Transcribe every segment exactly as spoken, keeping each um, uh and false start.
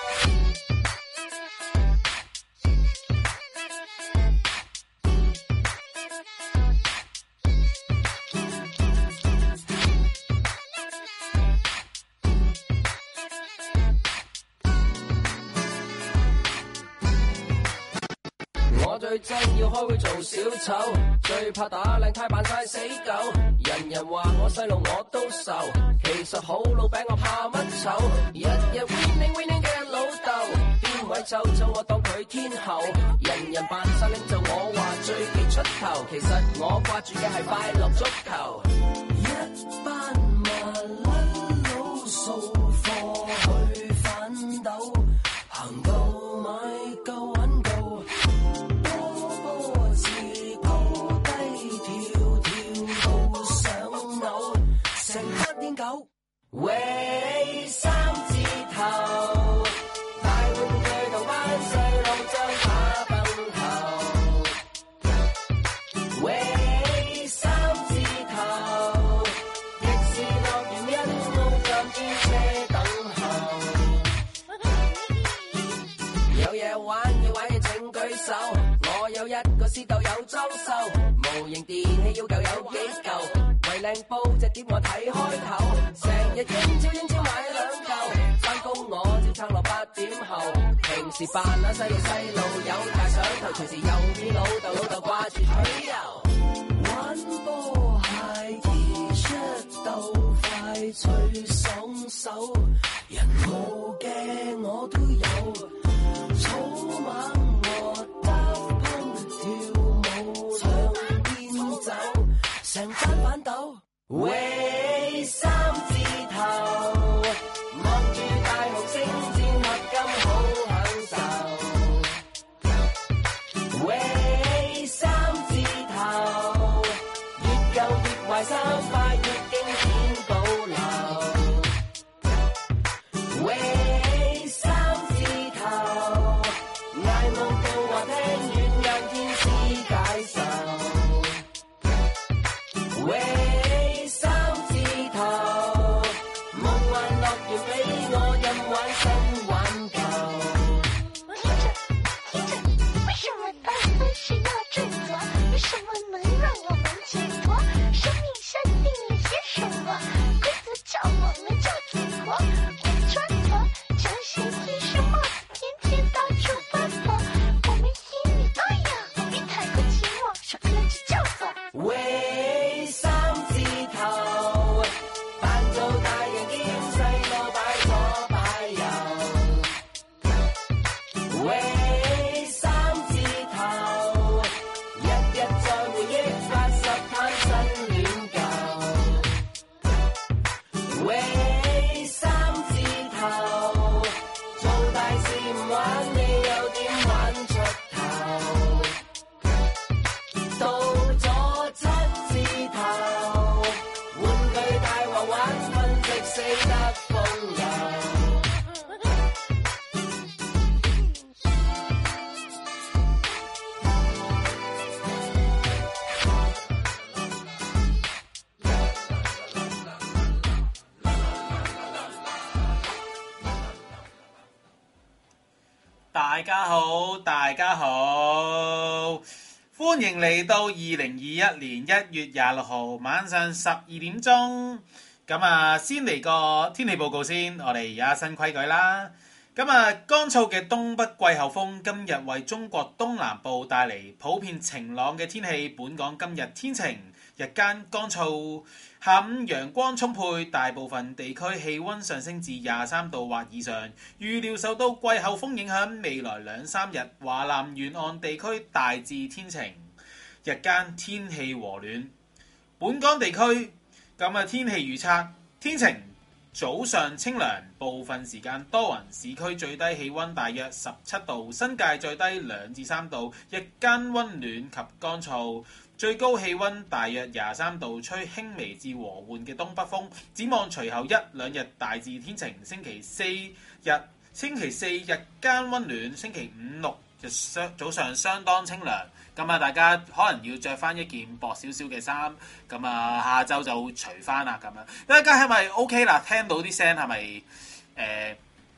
我最憎要開會做小丑，最怕打靚呔扮晒死狗。人人話我細路我都愁，其實好老餅我怕乜醜？日日 winning winning 嘅老豆，邊位臭臭我當佢天后。人人扮晒領袖我話最忌出頭，其實我掛住嘅係快樂足球。一班麻甩佬掃貨去反斗，行夠買夠揾夠。狗喂三字頭，大玩具同班細路將打崩頭。喂三字頭，迪士樂園一路站於車等候。有嘢玩要玩嘅請舉手，我有一個私竇有裝修，模型電器要夠有幾嚿。為靚煲隻碟我睇開頭，成日英超英超買兩嚿，返工我照撐落八點後，平時扮下細路細路有大想頭，隨時又見老豆老豆掛住取油，玩波鞋 T-shirt 鬥快脆爽手，人冇嘅我都有，草蜢和Daft Punk跳舞兩邊走。成班反斗，喂三字頭，望住大紅星戰合金好享受。喂三字頭，越舊越壞衫快越經典保留。喂三字頭，捱夢到話聽軟硬天師解愁。喂三字頭，夢幻樂園俾我任玩新玩舊。 聽着聽着，為什麼單身是要振作？為什麼能讓我們解脫？生命下定義些什麼？規則叫我們就緊活，我穿着球鞋 T 恤帽子，天天到處奔波。我們心裡那樣，別太過寂寞，首歌就叫做喂三字頭，扮做大人兼細路擺左擺右。喂三字頭，日日在回憶八十攤新戀舊。喂三字頭，做大事唔玩你又點玩出頭？到咗七字頭，玩具大王玩分值死得風流。 大家好，大家好，歡迎嚟到二零二一年一月廿六號晚上十二點鐘。咁啊，先嚟個天氣報告先。我哋而家新規矩啦。咁啊，乾燥嘅東北季候風今日為中國東南部帶嚟普遍晴朗嘅天氣。本港今日天晴，日間乾燥，下午陽光充沛，大部分地區氣溫上升至廿三度或以上。預料受到季候風影響，未來兩三日華南沿岸地區大致天晴，日間天氣和暖。本港地區咁啊，天氣預測天晴。早上清涼，部分時間多雲，市區最低氣溫大約十七度，新界最低兩至三度，日間溫暖及乾燥，最高氣溫大約廿三度，吹輕微至和緩嘅東北風。展望隨後一兩日大致天晴，星期四日星期四日間溫暖，星期五六日早上相當清涼。咁啊，大家可能要着翻一件薄少少嘅衫，咁啊，下晝就除翻啦咁樣。大家係咪 OK 啦？聽到啲聲係咪誒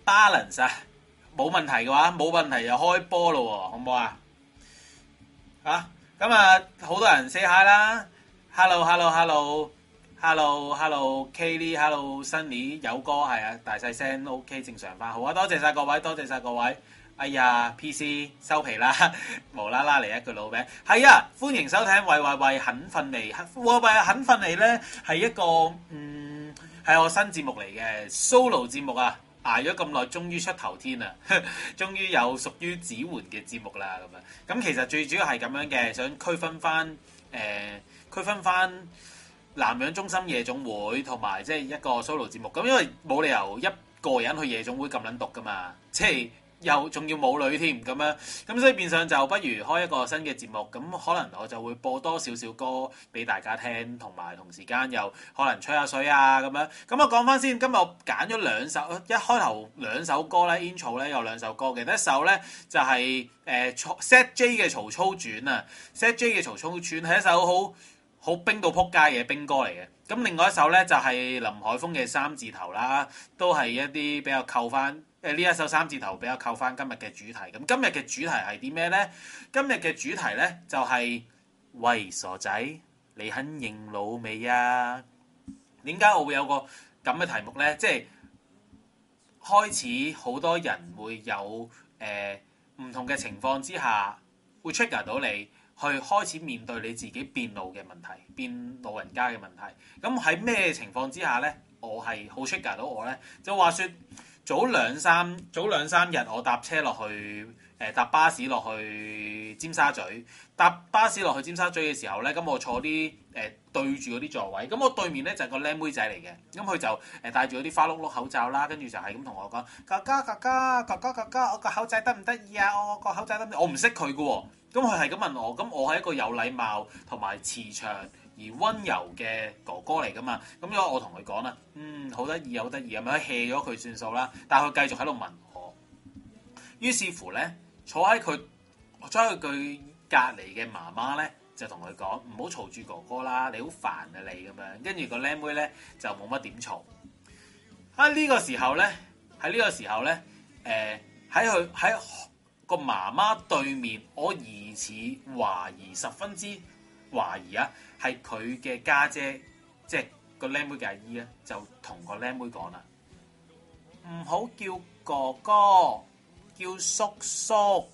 balance 啊，冇問題嘅話，冇問題就開波咯喎，好唔好啊？啊，咁啊，好多人 say hi 啦 ，hello hello hello hello hello Kelly，hello Sunny， 有歌係啊，大細聲 OK 正常翻，好啊，多謝晒各位，多謝晒各位。哎呀 ，P C 收皮啦，無啦啦嚟一句老名，係啊，歡迎收聽喂喂喂肯瞓未？喂喂肯瞓未咧係一個嗯係我新節目嚟嘅 solo 節目啊，捱咗咁耐，終於出頭天啊，終於有屬於子桓嘅節目啦咁啊，咁其實最主要係咁樣嘅，想區分翻誒、呃、區分翻南洋中心夜總會同埋即係一個 solo 節目，咁因為冇理由一個人去夜總會咁撚毒噶嘛，即係。又仲要冇女添咁樣，咁所以變相就不如開一個新嘅節目，咁可能我就會播多少少歌俾大家聽，同埋同時間又可能吹下水啊咁樣。咁我講翻先，今日我揀咗兩首，一開頭兩首歌咧 intro 咧有兩首歌嘅，第一首咧就係誒 Set J 嘅曹操傳啊 ，Set J 嘅曹操傳係一首好好冰到撲街嘅冰歌嚟嘅。咁另外一首咧就係林海峰嘅三字頭啦，都係一啲比較扣翻。誒呢一首三字頭比較扣翻今日嘅主題，咁今日嘅主題係啲咩咧？今日嘅主題咧就係、是、喂傻仔，你肯認老未啊？點解我會有個咁嘅題目咧？即係開始好多人會有誒唔、呃、同嘅情況之下，會 trigger 到你去開始面對你自己變老嘅問題，變老人家嘅問題。咁喺咩情況之下咧，我係好 trigger 到我咧？就話說。早兩三早兩三日，我搭車落去，誒、呃、搭巴士落去尖沙咀。搭巴士落去尖沙咀嘅時候咧，咁我坐啲誒、呃、對住嗰啲座位，咁我對面咧就係、是、個靚妹仔嚟嘅，咁佢就誒戴住嗰啲花碌碌口罩啦，跟住就係咁同我講：哥哥哥哥哥哥哥哥，我個口仔得唔得意啊？我個口仔得唔得？我唔識佢嘅喎，咁佢係咁問我，咁我係一個有禮貌同埋慈祥而温柔嘅哥哥嚟噶嘛，咁所以我同佢講啦，嗯，好得意，好得意，咁樣 hea 咗佢算數啦。但係佢繼續喺度問我，於是乎咧，坐喺佢坐喺佢隔離嘅媽媽咧，就同佢講唔好嘈住哥哥啦，你好煩啊你咁樣。跟住個靚妹咧就冇乜點嘈。喺呢個時候咧，喺呢個時候咧，誒喺佢喺個媽媽對面，我疑似懷疑十分之懷疑啊！係佢嘅家姐，即係個靚妹嘅阿姨咧，就同個靚妹講啦，唔好叫哥哥，叫叔叔。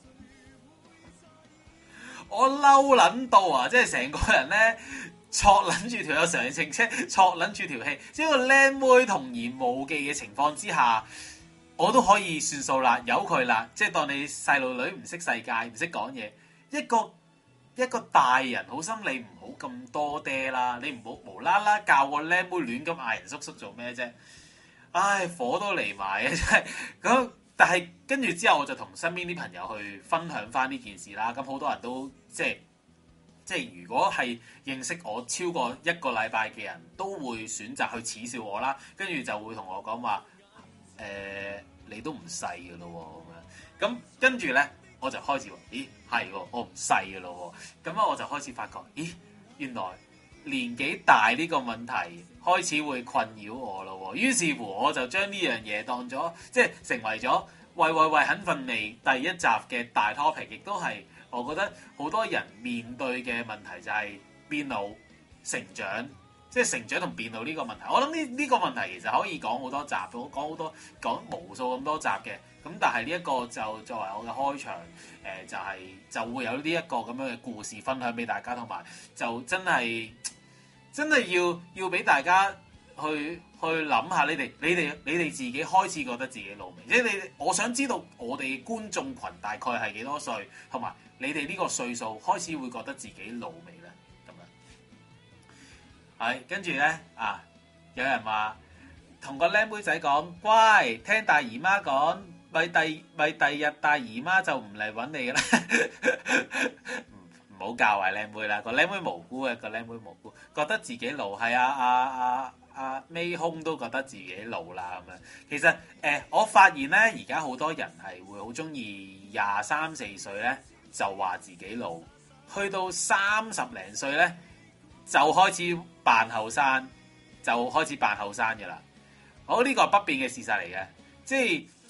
我嬲撚到啊！即係成個人咧，戳撚住條有上程車，戳撚住條氣。即係個靚妹童言無忌嘅情況之下，我都可以算數啦，由佢啦。即係當你細路女唔識世界，唔識講嘢，一個。一個大人好心，你唔好咁多爹啦，你唔好無啦啦教個靚妹亂咁嗌人叔叔做咩啫？唉，火都嚟埋啊！真係咁，但係跟住之後我就同身邊啲朋友去分享翻呢件事啦。咁好多人都即係即係，如果係認識我超過一個禮拜嘅人都會選擇去恥笑我啦。跟住就會同我講話誒，你都唔細㗎咯喎咁樣。咁跟住咧。我就開始話，咦係喎，我唔細嘅咯喎，咁啊我就開始發覺，咦原來年紀大呢個問題開始會困擾我咯喎，於是乎我就將呢樣嘢當咗，即係成為咗喂喂喂肯瞓未第一集嘅大 topic， 亦都係我覺得好多人面對嘅問題就係變老、成長，即係成長同變老呢個問題。我諗呢呢個問題其實可以講好多集，講好多講無數咁多集嘅。咁但係呢一個就作為我嘅開場，誒、呃、就係、是、就會有呢一個咁樣嘅故事分享俾大家，同埋就真係真係要要俾大家去去諗下你，你哋你哋你哋自己開始覺得自己老未？即係你，我想知道我哋觀眾群大概係幾多歲，同埋你哋呢個歲數開始會覺得自己老未咧？咁樣係跟住咧啊，有人話同個靚妹仔講，乖，聽大姨媽講。咪第咪第日大姨媽就唔嚟揾你㗎啦，唔好教壞靚妹啦，個靚妹無辜嘅，個靚妹無辜，覺得自己老係啊啊啊啊尾空都覺得自己老啦咁樣。其實誒、呃，我發現咧，而家好多人係會好中意廿三四歲咧就話自己老，去到三十零歲咧就開始扮後生，就開始扮後生嘅啦。好，呢個係不變嘅事實嚟嘅，即係。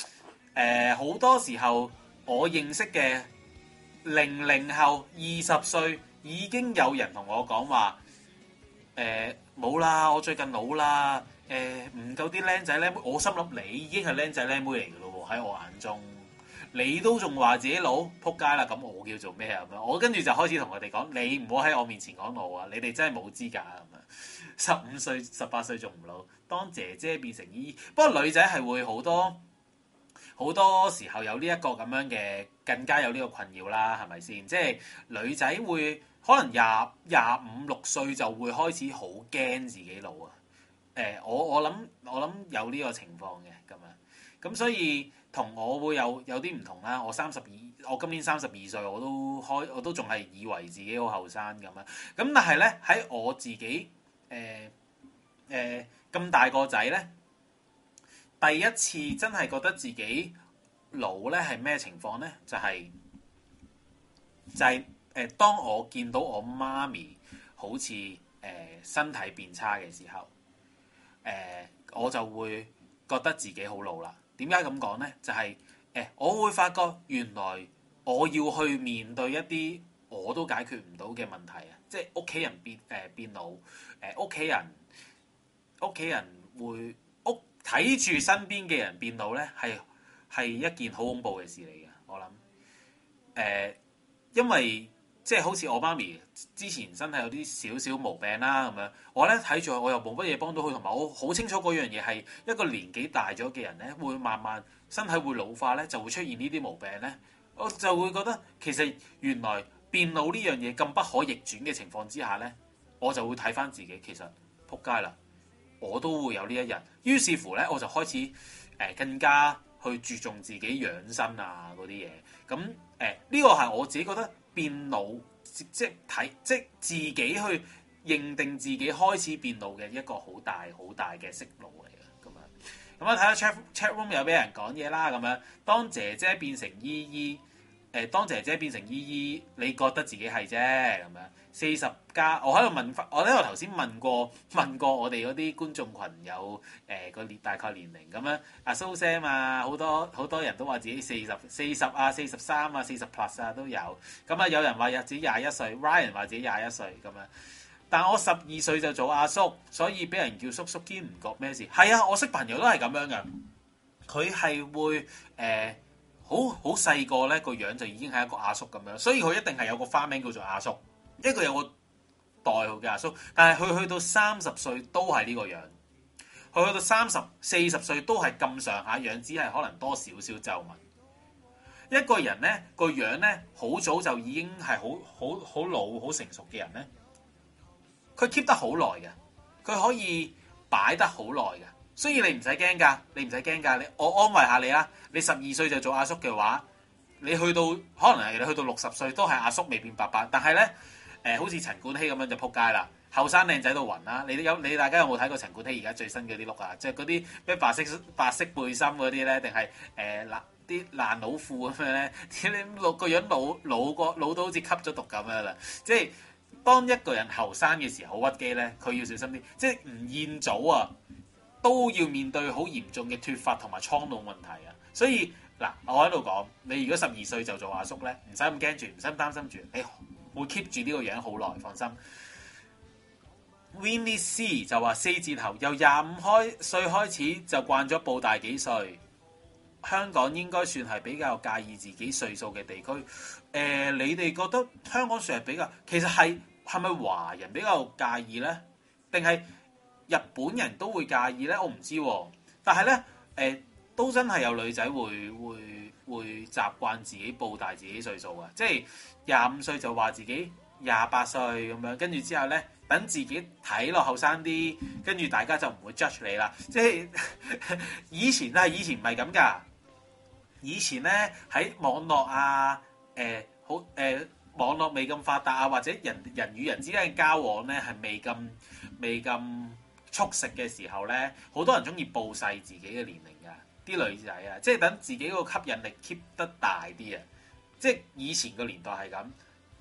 誒好多時候我認識嘅零零後二十歲已經有人同我講話，誒冇啦，我最近老啦，誒唔夠啲僆仔僆妹，我心諗你已經係僆仔僆妹嚟嘅咯喎，喺我眼中。你都仲話自己老，撲街啦！咁我叫做咩啊？咁樣我跟住就開始同佢哋講：你唔好喺我面前講老啊！你哋真係冇資格啊！咁樣十五歲、十八歲仲唔老？當姐姐變成姨姨。不過女仔係會好多好多時候有呢一個咁樣嘅，更加有呢個困擾啦，係咪先？即係女仔會可能廿廿五六歲就會開始好驚自己老啊！誒、呃，我我諗我諗有呢個情況嘅咁樣，咁所以。同我會有有啲唔同啦，我三十二，我今年三十二歲，我都開，我都仲係以為自己好後生咁樣。咁但係咧喺我自己誒誒咁大個仔咧，第一次真係覺得自己老咧係咩情況咧？就係、是、就係、是、誒、呃，當我見到我媽咪好似誒、呃、身體變差嘅時候，誒、呃、我就會覺得自己好老啦。點解咁講咧？就係、是、誒、欸，我會發覺原來我要去面對一啲我都解決唔到嘅問題啊！即係屋企人變誒、呃、變老，誒屋企人屋企人會屋睇住身邊嘅人變老咧，係係一件好恐怖嘅事嚟嘅。我諗誒、呃，因為即係好似我媽咪之前身體有啲少少毛病啦咁樣，我咧睇住我又冇乜嘢幫到佢，同埋我好清楚嗰樣嘢係一個年紀大咗嘅人咧，會慢慢身體會老化咧，就會出現呢啲毛病咧，我就會覺得其實原來變老呢樣嘢咁不可逆轉嘅情況之下咧，我就會睇翻自己其實撲街啦，我都會有呢一日。於是乎咧，我就開始誒、呃、更加去注重自己養生啊嗰啲嘢。咁誒呢個係我自己覺得。變老即即睇即自己去認定自己開始變老嘅一個好大好大嘅息路嚟嘅咁樣。咁啊睇下 chat chat room 有俾人講嘢啦咁樣。當姐姐變成姨姨，誒、呃、當姐姐變成姨姨，你覺得自己係啫咁樣。四十加，我喺度問翻，我喺度頭先問過問過我哋嗰啲觀眾群有誒個年大概年齡咁樣，阿蘇 Sam 啊，好多好多人都話自己四十四十啊、四十三啊、四十 plus 啊都有，咁啊有人話自己廿一歲 ，Ryan 話自己廿一歲咁樣，但我十二歲就做阿叔，所以俾人叫叔叔兼唔覺咩事。係啊，我識朋友都係咁樣嘅，佢係會誒好好細個咧個樣就已經係一個阿叔咁樣，所以佢一定係有個花名叫做阿叔。一個有個代號嘅阿叔，但係佢去到三十歲都係呢個樣，佢去到三十四十歲都係咁上下樣，只係可能多少少皺紋。一個人咧個樣咧好早就已經係好好好老好成熟嘅人咧，佢 keep 得好耐嘅，佢可以擺得好耐嘅，所以你唔使驚㗎，你唔使驚㗎。你我安慰下你啦，你十二歲就做阿叔嘅話，你去到可能係你去到六十歲都係阿叔未變伯伯，但係咧。誒、呃、好似陳冠希咁樣就撲街啦，後生靚仔到暈啦！你有你大家有冇睇過陳冠希而家最新嗰啲 look 啊？即係嗰啲咩白色白色背心嗰啲咧，定係誒爛啲爛佬褲咁樣咧？你老個樣老老過老到好似吸咗毒咁樣啦！即係當一個人後生嘅時候好屈機咧，佢要小心啲。即係吳彥祖啊，都要面對好嚴重嘅脫髮同埋蒼老問題啊！所以嗱，我喺度講，你如果十二歲就做阿叔咧，唔使咁驚住，唔使咁擔心住，你。會 keep 住呢個樣好耐，放心。Winnie C 就話四字頭由廿五開歲開始就慣咗報大幾歲。香港應該算係比較介意自己歲數嘅地區。誒、呃，你哋覺得香港算係比較？其實係係咪華人比較介意咧？定係日本人都會介意咧？我唔知喎、啊。但係咧，誒、呃、都真係有女仔會會會習慣自己報大自己歲數啊，即係。廿五歲就話自己廿八歲咁樣，跟住之後咧，等自己睇落後生啲，跟住大家就唔會 judge 你啦。即係以前啊，以前唔係咁噶。以前咧喺網絡啊，誒、呃、好誒、呃、網絡未咁發達啊，或者人人與人之間嘅交往咧係未咁未咁速食嘅時候咧，好多人中意報細自己嘅年齡噶，啲女仔啊，即係等自己個吸引力 keep 得大啲啊。即係以前個年代係咁，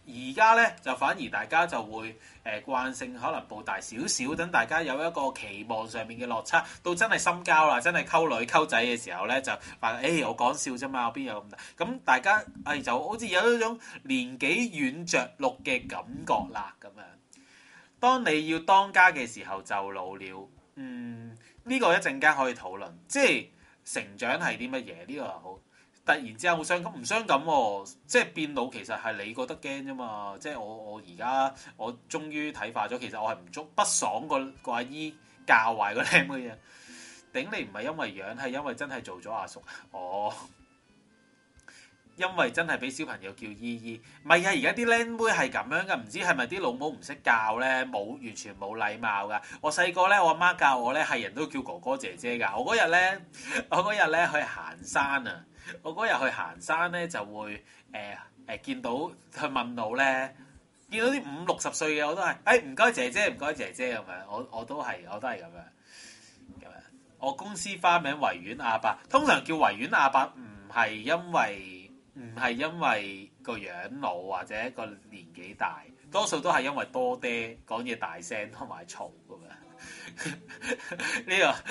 而家咧就反而大家就會誒、呃、慣性可能報大少少，等大家有一個期望上面嘅落差，到真係深交啦，真係溝女溝仔嘅時候咧，就話誒、欸、我講笑啫嘛，我邊有咁大？咁大家誒、哎、就好似有一種年紀軟着陸嘅感覺啦，咁樣。當你要當家嘅時候就老了，嗯，呢、這個一陣間可以討論，即係成長係啲乜嘢？呢、這個好。突然之間好傷感，唔傷感喎，即係變老其實係你覺得驚啫嘛，即係我我而家我終於睇化咗，其實我係唔足不爽個個阿姨教壞個僆妹嘅，頂你唔係因為樣，係因為真係做咗阿叔，哦，因為真係俾小朋友叫姨姨，唔係啊，而家啲僆妹係咁樣噶，唔知係咪啲老母唔識教咧，冇完全冇禮貌噶。我細個咧，我阿媽教我咧，係人都叫哥哥姐姐噶。我嗰日咧，我嗰日咧去行山啊。我嗰日去行山咧，就會誒誒、呃呃、見到去問路咧，見到啲五六十歲嘅我都係，誒唔該姐姐，唔該姐姐咁樣，我我都係我都係咁樣咁樣。我公司花名維園阿伯，通常叫維園阿伯唔係因為唔係因為個樣老或者個年紀大，多數都係因為多爹講嘢大聲同埋嘈咁樣。呢、這個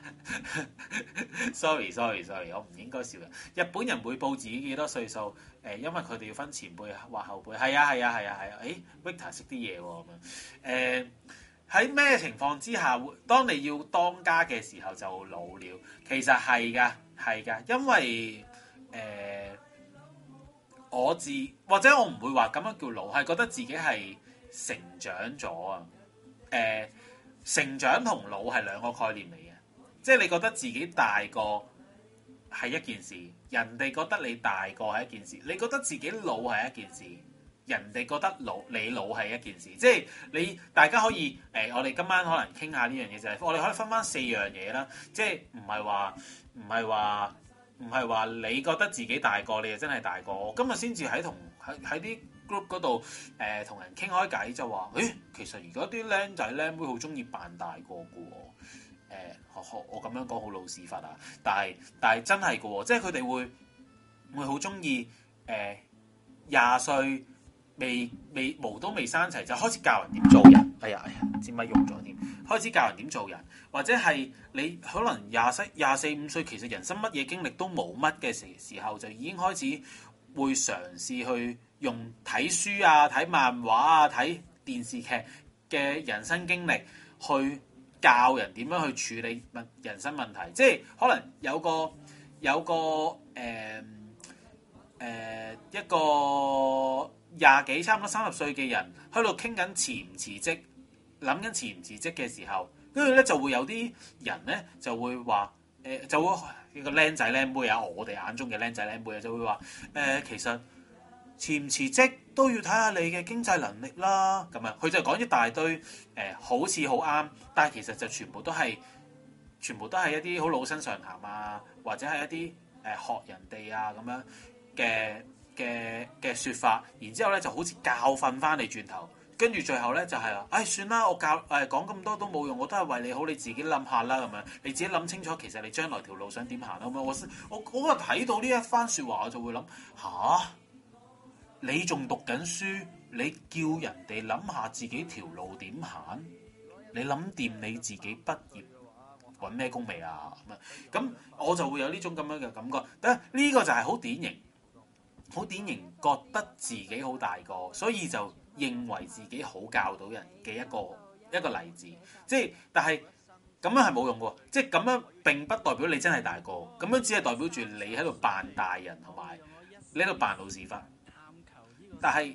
sorry sorry sorry，我唔應該笑人。日本人會報自己幾多歲數？誒、呃，因為佢哋要分前輩或後輩。係啊係啊係啊係啊！誒、欸、Victor 識啲嘢喎咁樣。誒喺咩情況之下會？當你要當家嘅時候就老了。其實係㗎係㗎，因為誒、呃、我自或者我唔會話咁樣叫老，係覺得自己係成長咗啊。誒、呃。成長同老係兩個概念嚟嘅，即係你覺得自己大個係一件事，人哋覺得你大個係一件事，你覺得自己老係一件事，人哋覺得老你老係一件事，即係你大家可以誒、呃，我哋今晚可能傾下呢樣嘢就係，我哋可以分翻四樣嘢啦，即係唔係話唔係話唔係話你覺得自己大個，你就真係大個。我今日先至喺同喺喺啲 group 嗰度誒同人傾開偈就話，誒其實而家啲僆仔僆妹好中意扮大個嘅喎，誒我我咁樣講好老屎忽啊，但係但係真係嘅喎，即係佢哋會會好中意誒廿歲未未毛都未生齊就開始教人點做人，哎呀哎呀，支咪用咗添，開始教人點做人，或者係你可能廿四廿四五歲，其實人生乜嘢經歷都冇乜嘅時時候，就已經開始會嘗試去用睇書啊、睇漫畫啊、睇電視劇嘅人生經歷去教人點樣去處理問人生問題，即係可能有個有個誒誒、呃呃、一個廿幾差唔多三十歲嘅人喺度傾緊辭唔辭職，諗緊辭唔辭職嘅時候，跟住咧就會有啲人咧就會話誒、呃、就會一個僆仔僆妹啊，我哋眼中嘅僆仔僆妹啊，就會話誒、呃、其實辭唔辭職都要睇下你嘅經濟能力啦。咁啊，佢就講一大堆誒、呃，好似好啱，但係其實就全部都係全部都係一啲好老生常談啊，或者係一啲誒、呃、學人哋啊咁樣嘅嘅嘅説法，然之後咧就好似教訓翻你轉頭，跟住最後咧就係、是、啊，唉、哎、算啦，我教誒、呃、講咁多都冇用，我都係為你好，你自己諗下啦咁樣，你自己諗清楚，其實你將來條路想點行啦咁樣。我我我嗰日睇到呢一番説話，我就會諗吓，你仲讀緊書，你叫人哋諗下自己條路點行，你諗掂你自己畢業揾咩工未啊？咁咁我就會有呢種咁樣嘅感覺。但係呢個就係好典型。好典型，覺得自己好大個，所以就認為自己好教到人嘅一個一個例子。即係，但係咁樣係冇用嘅，即係咁樣並不代表你真係大個，咁樣只係代表住你喺度扮大人同埋你喺度扮老屎忽。但係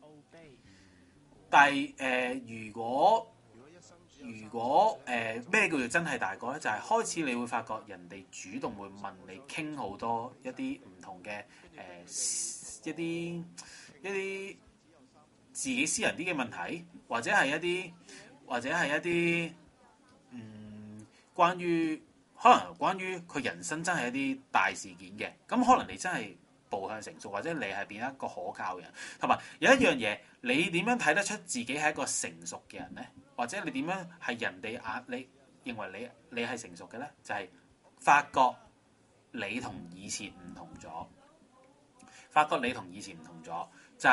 但係誒、呃，如果如果誒咩、呃、叫做真係大個咧，就係、是、開始你會發覺人哋主動會問你傾好多一啲唔同嘅誒、呃、一啲一啲自己私人啲嘅問題，或者係一啲或者係一啲嗯關於可能關於佢人生真係一啲大事件嘅，咁可能你真係步向成熟，或者你係變一個可靠嘅人。同埋有一樣嘢，你點樣睇得出自己係一個成熟嘅人咧？或者你點樣係人哋眼你認為你你係成熟嘅咧？就係、是、發覺你同以前唔同咗，發覺你同以前唔同咗，就係、是、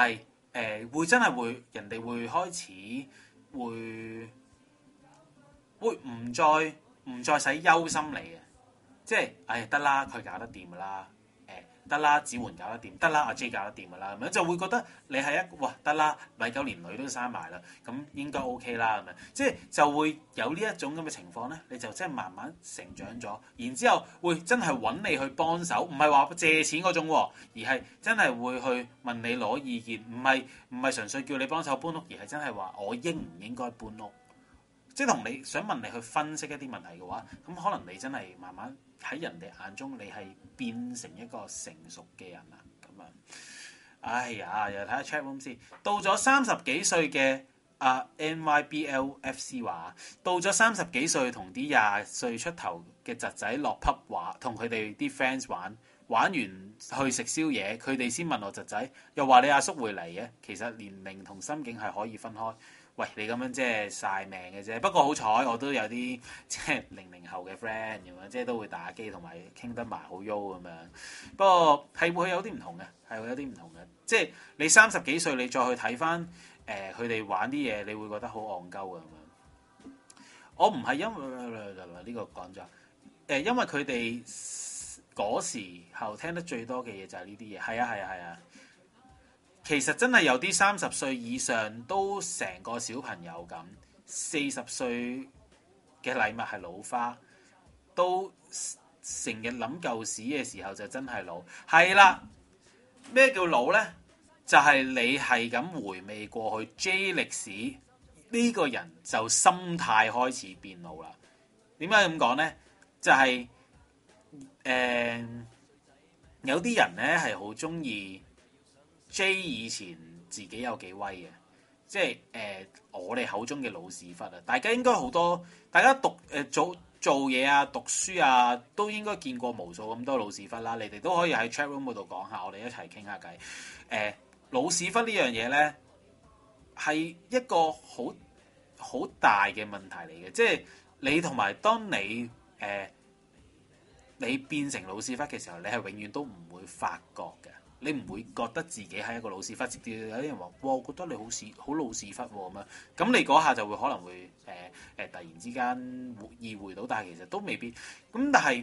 誒會真係會人哋會開始會會唔再唔再使憂心你嘅，即係唉得啦，佢搞得掂噶啦。得啦，子桓搞得掂，得啦，阿 J 搞得掂噶啦，咁樣就會覺得你係一哇得啦，米九連女都生埋啦，咁應該 OK 啦，咁樣即係就會有呢一種咁嘅情況咧，你就真係慢慢成長咗，然之後會真係揾你去幫手，唔係話借錢嗰種，而係真係會去問你攞意見，唔係唔係純粹叫你幫手搬屋，而係真係話我應唔應該搬屋，即係同你想問你去分析一啲問題嘅話，咁可能你真係慢慢喺人哋眼中你係變成一個成熟嘅人啦，咁啊，哎呀，又睇下 chat room 先。到咗三十幾歲嘅啊 N Y B L F C 話，到咗三十幾歲同啲廿歲出頭嘅侄仔落 pub 話，同佢哋啲 friends 玩，玩完去食宵夜，佢哋先問我侄仔，又話你阿叔會嚟嘅，其實年齡同心境係可以分開。喂，你咁樣即係曬命嘅啫。不過好彩，我都有啲即係零零後嘅 friend 咁樣，即係都會打機同埋傾得埋好喐咁樣。不過係會有啲唔同嘅，係會有啲唔同嘅。即係你三十幾歲，你再去睇翻誒佢哋玩啲嘢，你會覺得好戇鳩嘅咁樣。我唔係因為呢個講咗誒，因為佢哋嗰時候聽得最多嘅嘢就係呢啲嘢。係啊，係啊，係啊。其實真係有啲三十歲以上都成個小朋友咁，四十歲嘅禮物係老花，都成日諗舊屎嘅時候就真係老。係啦，咩叫老呢？就係、是、你係咁回味過去 J 歷史，呢、這個人就心態開始變老啦。點解咁講呢？就係、是、誒、呃、有啲人呢係好中意。J 以前自己有幾威嘅，即係誒、呃、我哋口中嘅老屎忽啊！大家應該好多，大家讀誒、呃、做做嘢啊、讀書啊，都應該見過無數咁多老屎忽啦。你哋都可以喺 chat room 嗰度講下，我哋一齊傾下偈。誒、呃、老屎忽呢樣嘢咧，係一個好好大嘅問題嚟嘅，即係你同埋當你誒、呃、你變成老屎忽嘅時候，你係永遠都唔會發覺嘅。你唔會覺得自己係一個老屎忽，直至有啲人話：哇，我覺得你好屎，好老屎忽喎咁樣。咁你嗰下就會可能會誒誒、呃呃、突然之間意會到，但係其實都未必。咁但係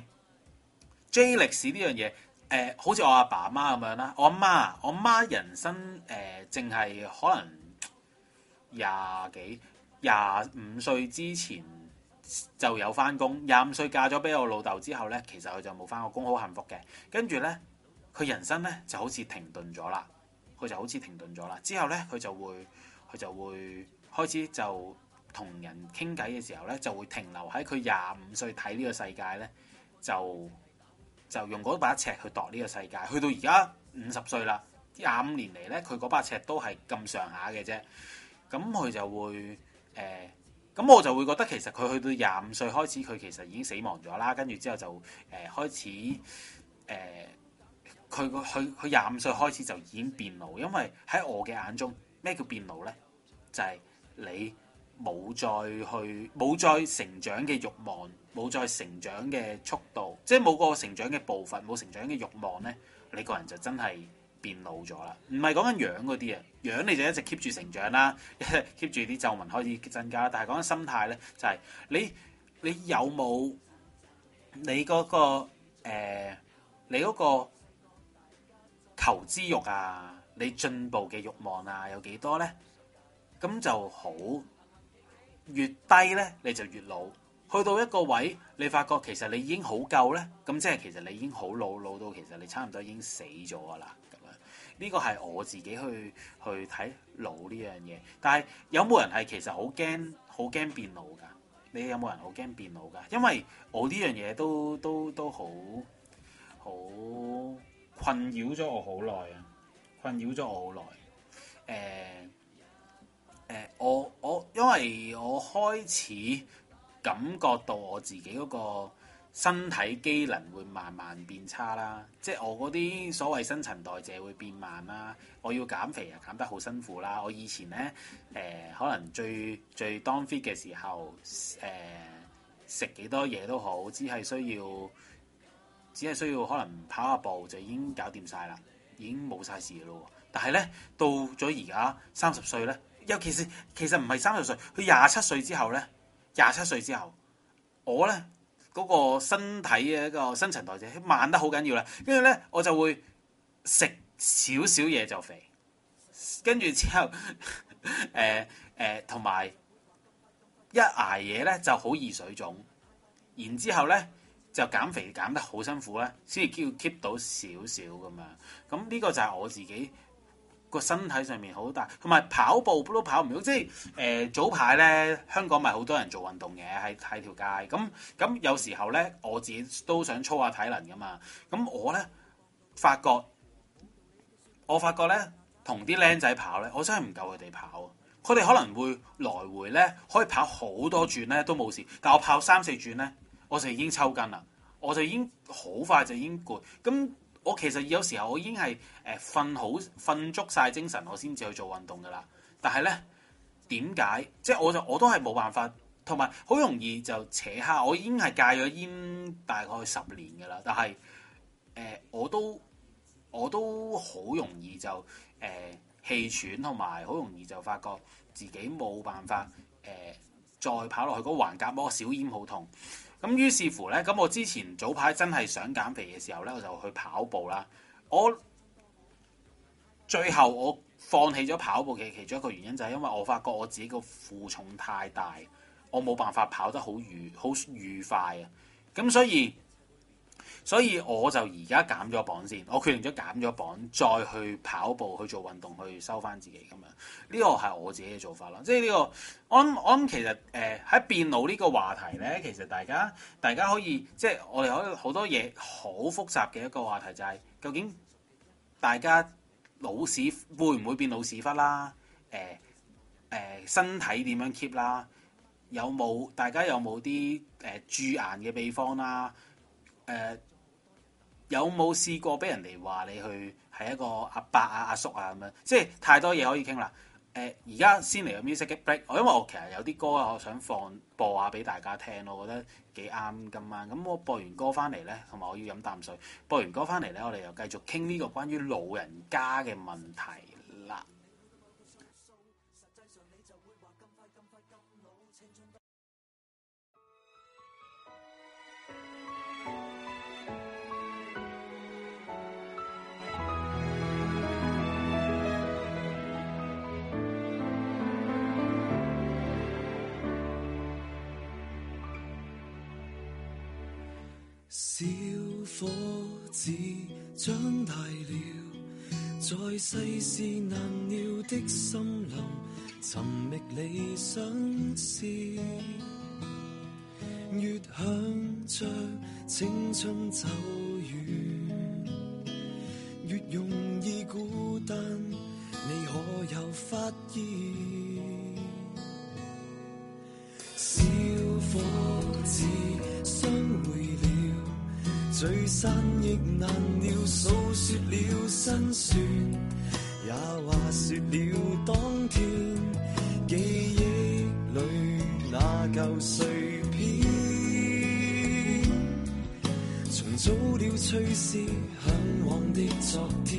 J 歷史呢樣嘢，誒、呃、好似我阿爸阿媽咁樣啦。我阿媽，我阿媽人生誒淨係可能廿幾廿五歲之前就有翻工，廿五歲嫁咗俾我老豆之後咧，其實佢就冇翻過工，好幸福嘅。跟住咧。佢人生咧就好似停頓咗啦，佢就好似停頓咗啦。之後咧，佢就會佢就會開始就同人傾偈嘅時候咧，就會停留喺佢廿五歲睇呢個世界咧，就就用嗰把尺去度呢個世界。去到而家五十歲啦，廿五年嚟咧，佢嗰把尺都係咁上下嘅啫。咁佢就會誒，咁、呃、我就會覺得其實佢去到廿五歲開始，佢其實已經死亡咗啦。跟住之後就誒、呃、開始誒。呃佢個佢佢廿五歲開始就已經變老，因為喺我嘅眼中，咩叫變老咧？就係、是、你冇再去冇再成長嘅慾望，冇再成長嘅速度，即係冇個成長嘅步伐，冇成長嘅慾望咧，你個人就真係變老咗啦。唔係講緊樣嗰啲啊，樣你就一直 keep 住成長啦，keep 住啲皺紋開始增加。但係講緊心態咧，就係、是、你你有冇你嗰、那個、呃、你嗰、那個。求知欲啊，你進步嘅慾望啊，有幾多咧？咁就好，越低咧你就越老。去到一個位，你發覺其實你已經好夠咧，咁即係其實你已經好老，老到其實你差唔多已經死咗噶啦。咁樣呢個係我自己去去睇老呢樣嘢。但係有冇人係其實好驚好驚變老㗎？你有冇人好驚變老㗎？因為我呢樣嘢都都都好好。困擾咗我好耐啊！困擾咗我好耐。誒、呃、誒、呃，我我因為我開始感覺到我自己嗰個身體機能會慢慢變差啦，即係我嗰啲所謂新陳代謝會變慢啦。我要減肥啊，減得好辛苦啦。我以前咧誒、呃，可能最最當 fit 嘅時候，誒食幾多嘢都好，只係需要。只係需要可能跑下步就已經搞掂晒啦，已經冇晒事咯。 但係咧到咗而家三十歲咧，尤其是其實唔係三十歲，佢廿七歲之後咧，廿七歲之後，我咧嗰、那個身體嘅一個新陳代謝慢得好緊要啦，跟住咧我就會食少少嘢就肥，跟住之後誒誒同埋一捱嘢咧就好易水腫，然之後咧就減肥減得好辛苦咧，先至叫 keep 到少少咁樣。咁呢個就係我自己個身體上面好大，同埋跑步都跑唔到。即係誒、呃、早排咧，香港咪好多人做運動嘅喺喺條街。咁咁有時候咧，我自己都想操下體能噶嘛。咁我咧發覺，我發覺咧同啲僆仔跑咧，我真係唔夠佢哋跑。佢哋可能會來回咧可以跑好多轉咧都冇事，但我跑三四轉咧，我就已經抽筋啦，我就已經好快就已經攰。咁我其實有時候我已經係誒瞓好瞓足晒精神，我先至去做運動噶啦。但係咧點解？即係我就我都係冇辦法，同埋好容易就扯蝦。我已經係戒咗煙大概十年噶啦，但係誒、呃、我都我都好容易就誒、呃、氣喘，同埋好容易就發覺自己冇辦法誒、呃、再跑落去嗰個橫膈膜小咽好痛。咁於是乎咧，咁我之前早排真係想減肥嘅時候咧，我就去跑步啦。我最後我放棄咗跑步嘅其中一個原因就係因為我發覺我自己個負重太大，我冇辦法跑得好愉好愉快啊。咁所以所以我就而家減咗磅先，我決定咗減咗磅，再去跑步去做運動，去收翻自己咁樣。呢個係我自己嘅做法啦。即係呢個，我諗我諗其實誒喺、呃、變老呢個話題咧，其實大家大家可以即係我哋可以好多嘢好複雜嘅一個話題就係、是、究竟大家老屎會唔會變老屎忽啦？誒、呃、誒、呃、身體點樣 keep 啦？有冇大家有冇啲誒駐顏嘅秘方啦？誒、呃。有冇試過俾人哋話你去係一個阿伯啊、阿叔啊咁樣？即係太多嘢可以傾啦。誒、呃，而家先嚟個 music break，我因為我其實有啲歌我想放播下俾大家聽，我覺得幾啱今晚。咁我播完歌翻嚟咧，同埋我要飲啖水。播完歌翻嚟咧，我哋又繼續傾呢個關於老人家嘅問題啦。 小伙子長大了，在世事難料的森林，尋覓理想事，越向着青春走遠，越容易孤單。你可有發現？小伙子相會了，聚散亦難料，訴說了辛酸，也話說了當天記憶裏那舊碎片，重組了隨時向往的昨天，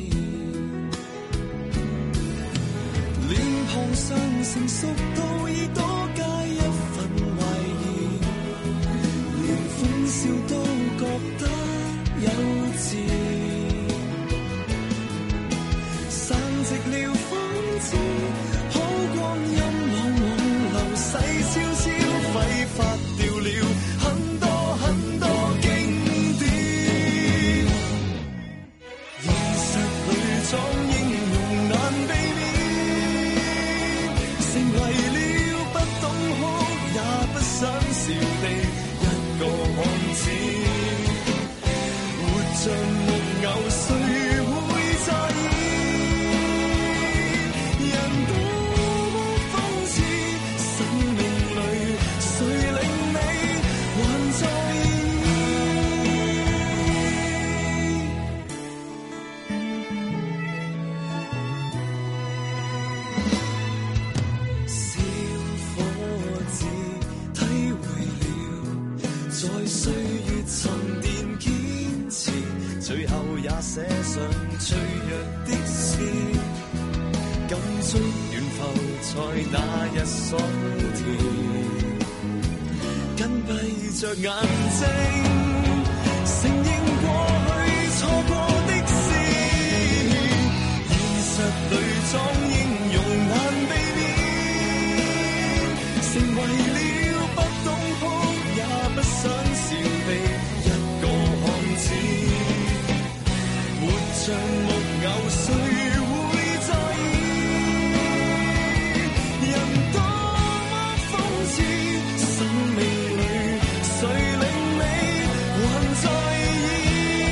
臉龐上成熟到已多加一份懷疑，連歡笑都覺得幼稚，散席了風姿，好光陰往往流逝悄悄，揮發掉了很多很多經典，現實裏裝英雄難避免，成為了不懂哭也不想笑的一個漢子，活像木偶誰會在意，人多麼諷刺，生命裏誰令你還在意，小伙子體會了在歲月沉澱堅持，最後也寫上脆弱的詩， 捉完浮在那一所田，緊閉着眼睛，承認過去錯過的事，現實裏裝英勇難避免，成為了不懂哭也不想笑的一個漢子，活像木偶誰會在意？人多麼諷刺，生命裏誰令你還在意？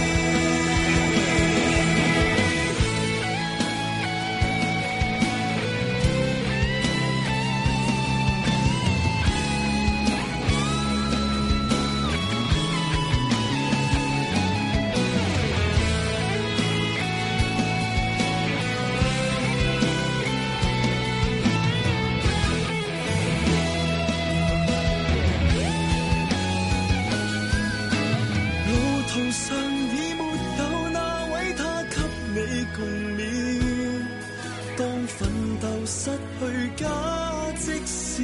路途上已沒有那位他給你共勉，當奮鬥失去價值時，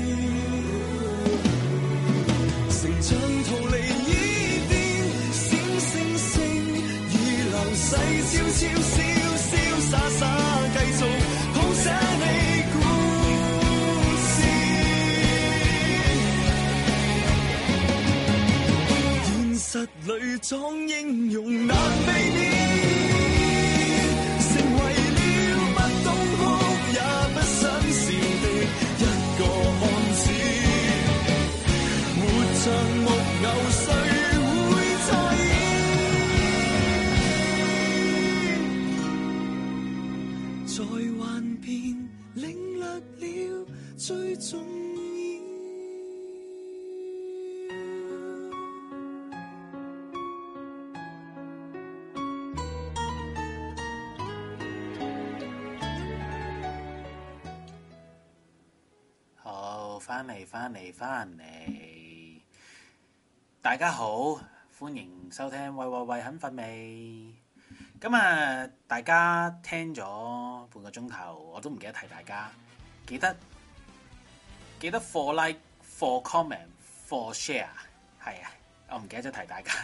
成長逃離伊甸，閃星星已流逝，悄悄瀟瀟灑灑繼續譜寫你故事。現實裏裝英勇難避免，成為了不懂哭也不想笑的一個漢子，活像木偶誰會在意？在幻變領略了最重要。 好，翻嚟翻嚟翻嚟，大家好，歡迎收聽喂喂喂肯瞓未？咁啊，大家聽咗半個鐘頭，我都唔記得提大家，記得記得 for like for comment for share， 係啊，我唔記得咗提大家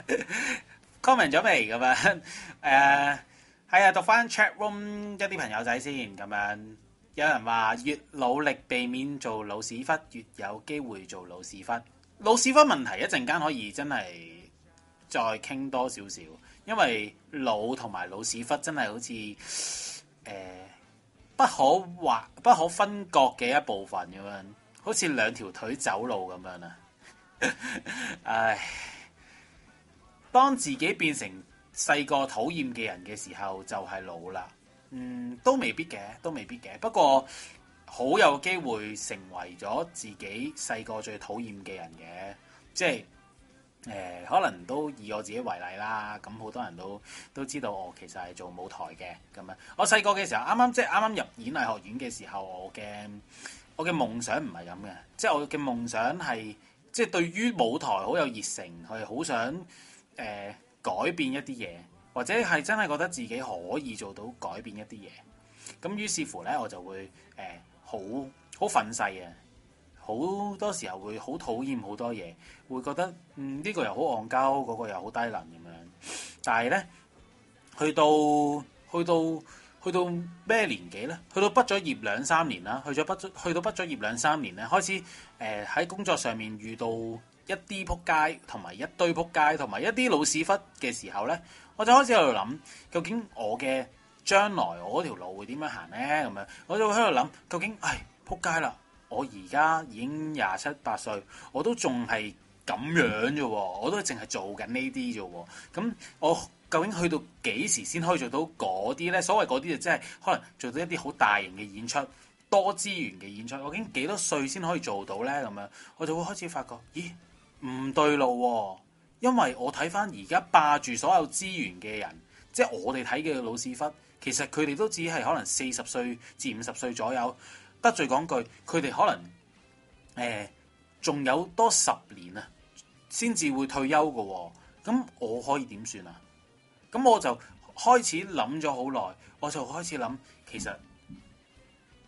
comment 咗未咁樣？誒，係啊，讀翻 chat room 一啲朋友仔先咁樣。有人話越努力避免做老屎忽，越有機會做老屎忽。老屎忽問題一陣間可以真係再傾多少少，因為老同埋老屎忽真係好似誒、呃、不可劃不可分割嘅一部分咁樣，好似兩條腿走路咁樣啊！唉，當自己變成細個討厭嘅人嘅時候，就係老啦。嗯，都未必嘅，都未必嘅。不過好有機會成為咗自己細個最討厭嘅人嘅，即係誒、呃，可能都以我自己為例啦。咁好多人都都知道我其實係做舞台嘅咁樣。我細個嘅時候，啱啱即係啱啱入演藝學院嘅時候，我嘅我嘅夢想唔係咁嘅，即係我嘅夢想係即係對於舞台好有熱誠，係好想誒、呃、改變一啲嘢。或者係真係覺得自己可以做到改變一啲嘢，咁於是乎咧，我就會誒好好憤世嘅，好多時候會好討厭好多嘢，會覺得嗯呢、這個又好戇鳩，嗰、那個又好低能咁樣。但係咧，去到去到去到咩年紀咧？去到畢咗業兩三年啦，去咗畢咗去到畢咗業兩三年咧，開始誒喺、呃、工作上面遇到一啲仆街，同埋一堆仆街，同埋一啲老屎忽嘅時候咧。我就開始喺度諗，究竟我嘅將來我嗰條路會點樣行咧？咁樣我就喺度諗，究竟唉撲街啦！我而家已經廿七八歲，我都仲係咁樣啫喎，我都淨係做緊呢啲啫喎。咁我究竟去到幾時先可以做到嗰啲咧？所謂嗰啲就即係可能做到一啲好大型嘅演出、多資源嘅演出。究竟幾多歲先可以做到咧？咁樣我就會開始發覺，咦唔對路喎！因為我睇翻而家霸住所有資源嘅人，即係我哋睇嘅老屎忽，其實佢哋都只係可能四十歲至五十歲左右。得罪講句，佢哋可能誒仲、呃、有多十年啊，先至會退休嘅喎。咁我可以點算啊？咁我就開始諗咗好耐，我就開始諗，其實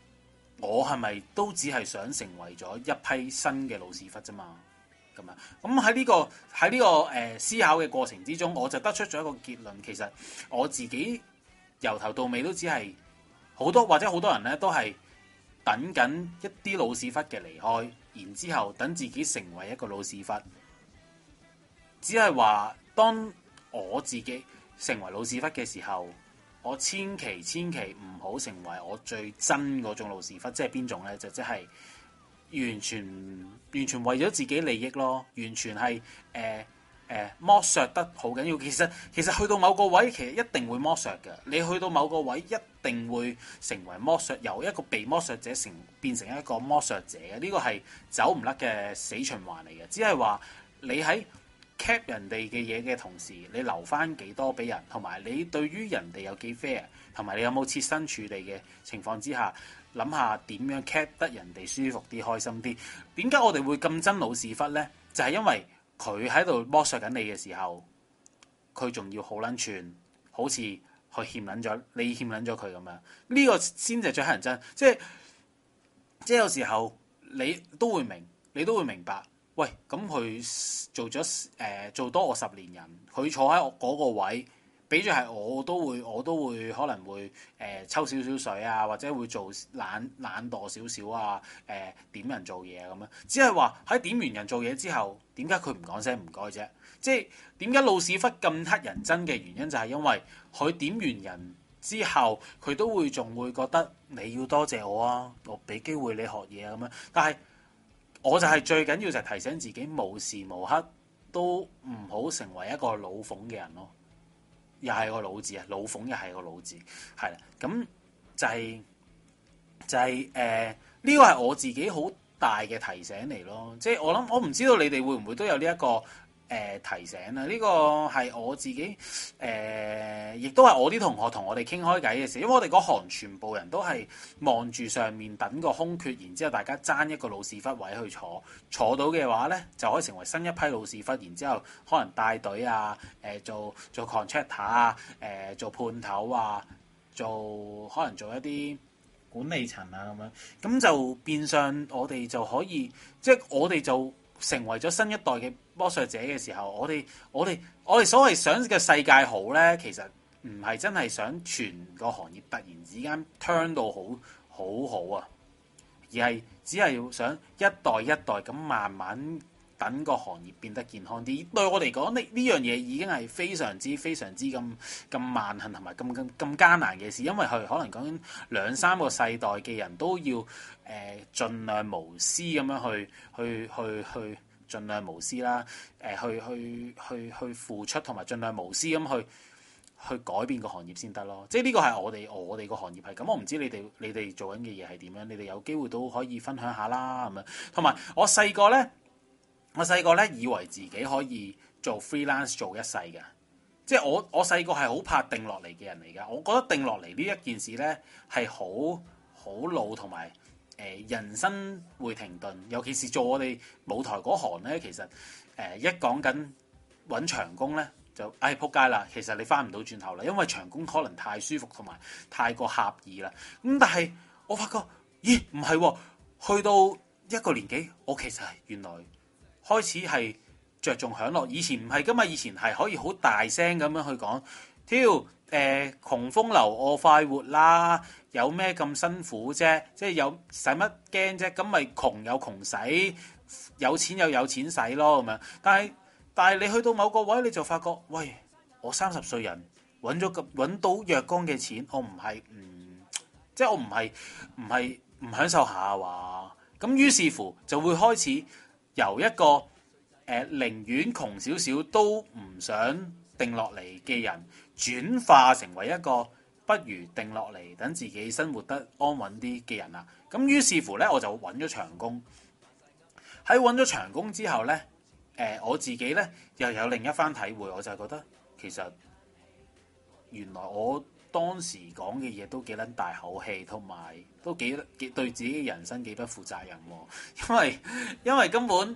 我係咪都只係想成為咗一批新嘅老屎忽啫嘛？咁啊，咁喺呢個喺呢、這個誒、呃、思考嘅過程之中，我就得出咗一個結論。其實我自己由頭到尾都只係好多或者好多人咧，都係等緊一啲老屎忽嘅離開，然之後等自己成為一個老屎忽。只係話當我自己成為老屎忽嘅時候，我千祈千祈唔好成為我最真嗰種老屎忽。即係邊種咧？就即係完全完全為咗自己利益咯，完全係誒誒剝削得好緊要。其實其實去到某個位，其實一定會剝削嘅。你去到某個位，一定會成為剝削，由一個被剝削者成變成一個剝削者嘅。呢個係走唔甩嘅死循環嚟嘅。只係話你喺 cap 人哋嘅嘢嘅同時，你留翻幾多俾人，同埋你對於人哋有幾 fair，同埋你有冇設身處地嘅情況之下，諗下點樣 cap 得人哋舒服啲、開心啲。點解我哋會咁憎老屎忽咧？就係、是、因為佢喺度剝削緊你嘅時候，佢仲要好撚串，好似佢欠撚咗你欠撚咗佢咁樣。呢、這個先至最乞人憎。即係即係有時候你都會明，你都會明白。喂，咁佢做咗誒、呃、做多我十年人，佢坐喺我嗰個位，比住係我都會我都會可能會誒、呃、抽少少水啊，或者會做懶懶惰少少啊，誒、呃、點人做嘢啊咁樣。只係話喺點完人做嘢之後，點解佢唔講聲唔該啫？即係點解老屎忽咁乞人憎嘅原因，就係因為佢點完人之後，佢都會仲會覺得你要多謝我啊，我俾機會你學嘢啊咁樣，但係。我就係最緊要就係提醒自己，無時無刻都唔好成為一個老諷嘅人咯。又係個老字啊，老諷又係個老字，係啦。咁就係、是、就係誒呢個係我自己好大嘅提醒嚟咯。即係我諗，我唔知道你哋會唔會都有呢、這、一個誒、呃、提醒啊？呢、這個係我自己誒，亦、呃、都係我啲同學同我哋傾開偈嘅時候，因為我哋嗰行全部人都係望住上面等個空缺，然之後大家爭一個老屎忽位去坐，坐到嘅話咧，就可以成為新一批老屎忽，然之後可能帶隊啊，誒、呃、做做 contractor 啊，誒、呃、做判頭啊，做可能做一啲管理層啊咁樣，咁就變相我哋就可以，即係我哋就成為咗新一代嘅剝削者嘅時候，我哋我哋我哋所謂想嘅世界好咧，其實唔係真係想全個行業突然之間 turn 到好好好啊，而係只係想一代一代咁慢慢等個行業變得健康啲。對我嚟講，呢呢樣嘢已經係非常之非常之咁咁萬幸同埋咁咁咁艱難嘅事，因為佢可能講緊兩三個世代嘅人都要誒、呃、盡量無私咁樣去去去去盡量無私啦，誒、呃、去去去去付出同埋盡量無私咁去去改變個行業先得咯。即係呢個係我哋我哋個行業係咁，我唔知你哋你哋做緊嘅嘢係點樣，你哋有機會都可以分享下啦咁樣。同埋我細個咧。我細個咧以為自己可以做 freelance 做一世嘅，即係我我細個係好怕定落嚟嘅人嚟㗎。我覺得定落嚟呢一件事咧係好好老同埋誒人生會停頓，尤其是做我哋舞台嗰行咧，其實誒、呃、一講緊揾長工咧就唉仆街啦。其實你翻唔到轉頭啦，因為長工可能太舒服同埋太過狹義啦。咁但係我發覺咦唔係喎，去到一個年紀，我其實係原來。開始係着重享樂，以前唔係噶嘛，以前係可以好大聲咁樣去講，挑誒、呃、窮風流我快活啦，有咩咁辛苦啫？即係有使乜驚啫？咁咪窮有窮使，有錢又有錢使咯咁樣。但係但係你去到某個位，你就發覺，喂，我三十歲人揾咗咁揾到若干嘅錢，我唔係唔即係我唔係唔係唔享受下話，咁於是乎就會開始。由一個誒、呃、寧願窮少少都唔想定落嚟嘅人，轉化成為一個不如定落嚟等自己生活得安穩啲嘅人啦。咁於是乎咧，我就揾咗長工。喺揾咗長工之後咧，誒、呃、我自己咧又有另一番體會，我就係覺得其實原來我當時講嘅嘢都幾撚大口氣，同埋都幾幾對自己嘅人生幾不負責任喎。因為因為根本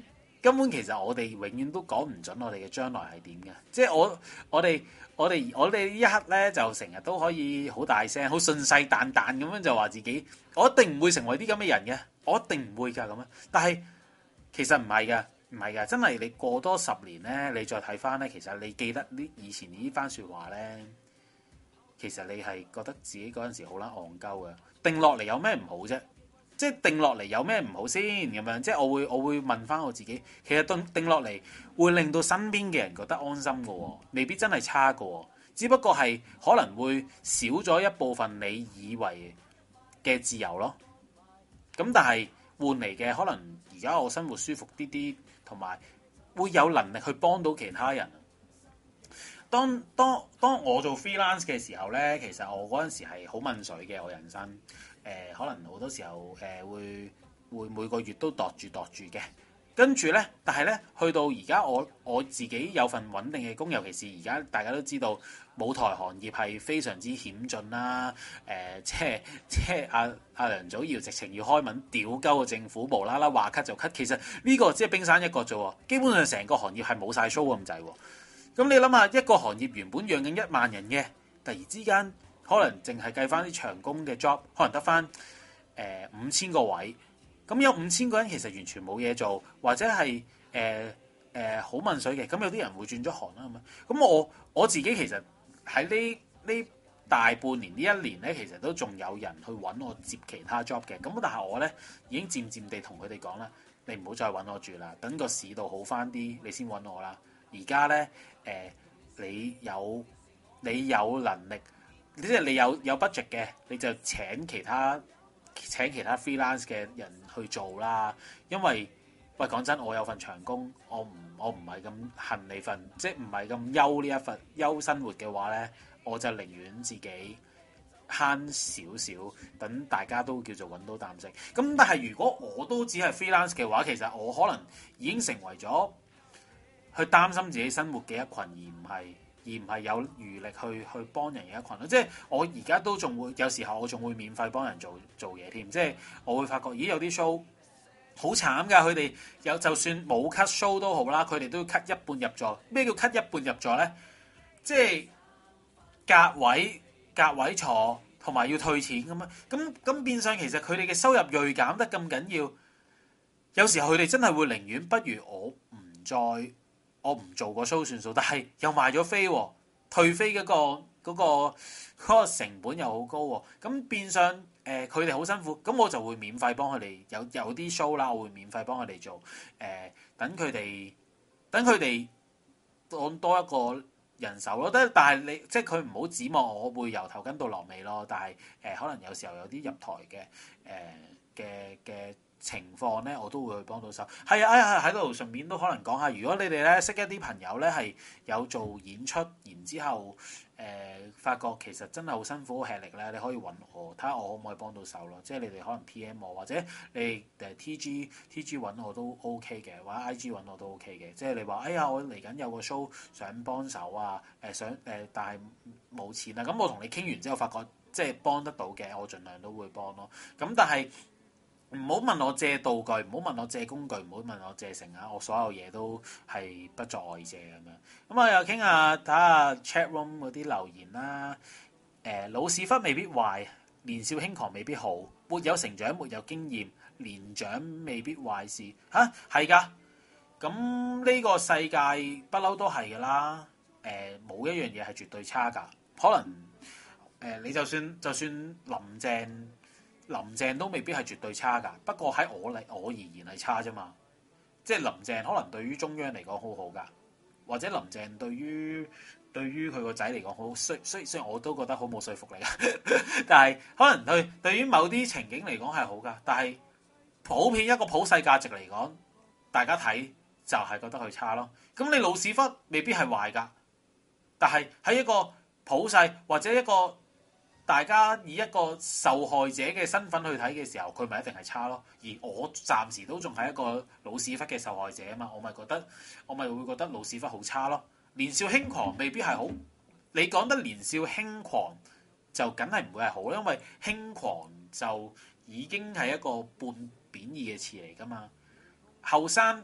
根本其實我哋永遠都講唔準我哋嘅將來係點嘅。即係我我哋我哋我哋呢一刻咧就成日都可以好大聲、好信誓旦旦咁樣就話自己，我一定唔會成為啲咁嘅人嘅，我一定唔會㗎咁樣。但係其實唔係㗎，唔係㗎，真係你過多十年咧，你再睇翻咧，其實你記得呢以前呢番説話咧，其實你係覺得自己嗰陣時好撚戇鳩嘅。定落嚟有咩唔好啫？即係定落嚟有咩唔好先咁樣？即係我會我會問翻我自己，其實定定落嚟會令到身邊嘅人覺得安心嘅喎，未必真係差嘅喎，只不過係可能會少咗一部分你以為嘅自由咯。咁但係換嚟嘅可能而家我生活舒服啲啲，同埋會有能力去幫到其他人。當當當我做 freelance 嘅時候咧，其實我嗰陣時係好問水嘅我人生，誒、呃、可能好多時候誒、呃、會會每個月都度住度住嘅，跟住咧，但係咧去到而家我我自己有份穩定嘅工，尤其是而家大家都知道舞台行業係非常之險峻啦，誒、呃、即係即係阿阿梁祖堯直情要開文屌鳩個政府，無啦啦話 cut 就 cut， 其實呢個只係冰山一角啫喎，基本上成個行業係冇晒 show 咁滯喎。咁你諗下，一個行業原本養緊一萬人嘅，突然之間可能淨係計翻啲長工嘅 job，可能得翻誒五千個位。咁有五千個人其實完全冇嘢做，或者係誒誒好問水嘅。咁有啲人會轉咗行啦，咁樣。咁我我自己其實喺呢呢大半年呢一年咧，其實都仲有人去揾我接其他 job 嘅。咁但係我咧已經漸漸地同佢哋講啦，你唔好再揾我住啦，等個市道好翻啲，你先揾我啦。而家咧，誒、呃，你有你有能力，即係你有有 budget 嘅，你就請其他請其他 freelance 嘅人去做啦。因為喂講真，我有份長工，我唔我唔係咁恨你份，即係唔係咁憂呢一份憂生活嘅話咧，我就寧願自己慳少少，等大家都叫做揾到啖食。咁但係如果我都只係 freelance 嘅話，其實我可能已經成為咗去擔心自己生活嘅一群，而唔係而唔係有餘力去去幫人嘅一群咯。即係我而家都仲會有時候我仲會免費幫人做做嘢添。即係我會發覺，咦有啲 show 好慘㗎，佢哋有就算冇 cut show 都好啦，佢哋都要 cut 一半入座。咩叫 cut 一半入座咧？即係隔位隔位坐，同埋要退錢咁樣。咁咁變相其實佢哋嘅收入銳減得咁緊要，有時候佢哋真係會寧願不如我唔再。我唔做個 show 算數，但係又賣咗飛喎，退飛嗰個嗰個嗰個成本又好高喎，咁變相誒佢哋好辛苦，咁我就會免費幫佢哋有有啲 show 啦，我會免費幫佢哋做，誒等佢哋等佢哋當多一個人手咯。但係你即係佢唔好指望我會由頭跟到落尾咯，但係誒、呃、可能有時候有啲入台嘅誒嘅嘅情況咧，我都會去幫到手。係啊，哎呀喺度順便都可能講下，如果你哋咧識一啲朋友咧係有做演出，然之後誒、呃、發覺其實真係好辛苦好吃力咧，你可以揾我睇下我可唔可以幫到手咯。即係你哋可能 P M 我，或者你哋誒 T G T G 揾我都 OK 嘅，或者 I G 揾我都 OK 嘅。即係你話哎呀，我嚟緊有個 show 想幫手啊，誒、呃、想誒、呃、但係冇錢啊。咁我同你傾完之後，發覺即係幫得到嘅，我盡量都會幫咯。咁但係唔好問我借道具，唔好問我借工具，唔好問我借成啊！我所有嘢都係不作外借咁樣。咁啊，又傾下睇下 chat room 嗰啲留言啦。誒、呃，老屎忽未必壞，年少輕狂未必好，沒有成長，沒有經驗，年長未必壞事。嚇，係㗎。咁呢個世界不嬲都係㗎啦。誒、呃，冇一樣嘢係絕對差㗎。可能誒、呃，你就算就算林鄭。林鄭都未必係絕對差㗎，不過喺我嚟我而言係差啫嘛。即係林鄭可能對於中央嚟講好好㗎，或者林鄭對於對於佢個仔嚟講好，雖雖雖然我都覺得好冇說服力㗎，但係可能對對於某啲情景嚟講係好㗎。但係普遍一個普世價值嚟講，大家睇就係覺得佢差咯。咁你老屎忽未必係壞㗎，但係喺一個普世或者一個大家以一個受害者嘅身份去睇嘅時候，佢咪一定係差咯。而我暫時都仲係一個老屎忽嘅受害者啊嘛，我咪覺得我咪會覺得老屎忽好差咯。年少輕狂未必係好，你講得年少輕狂就梗係唔會係好，因為輕狂就已經係一個半貶義嘅詞嚟㗎嘛。後生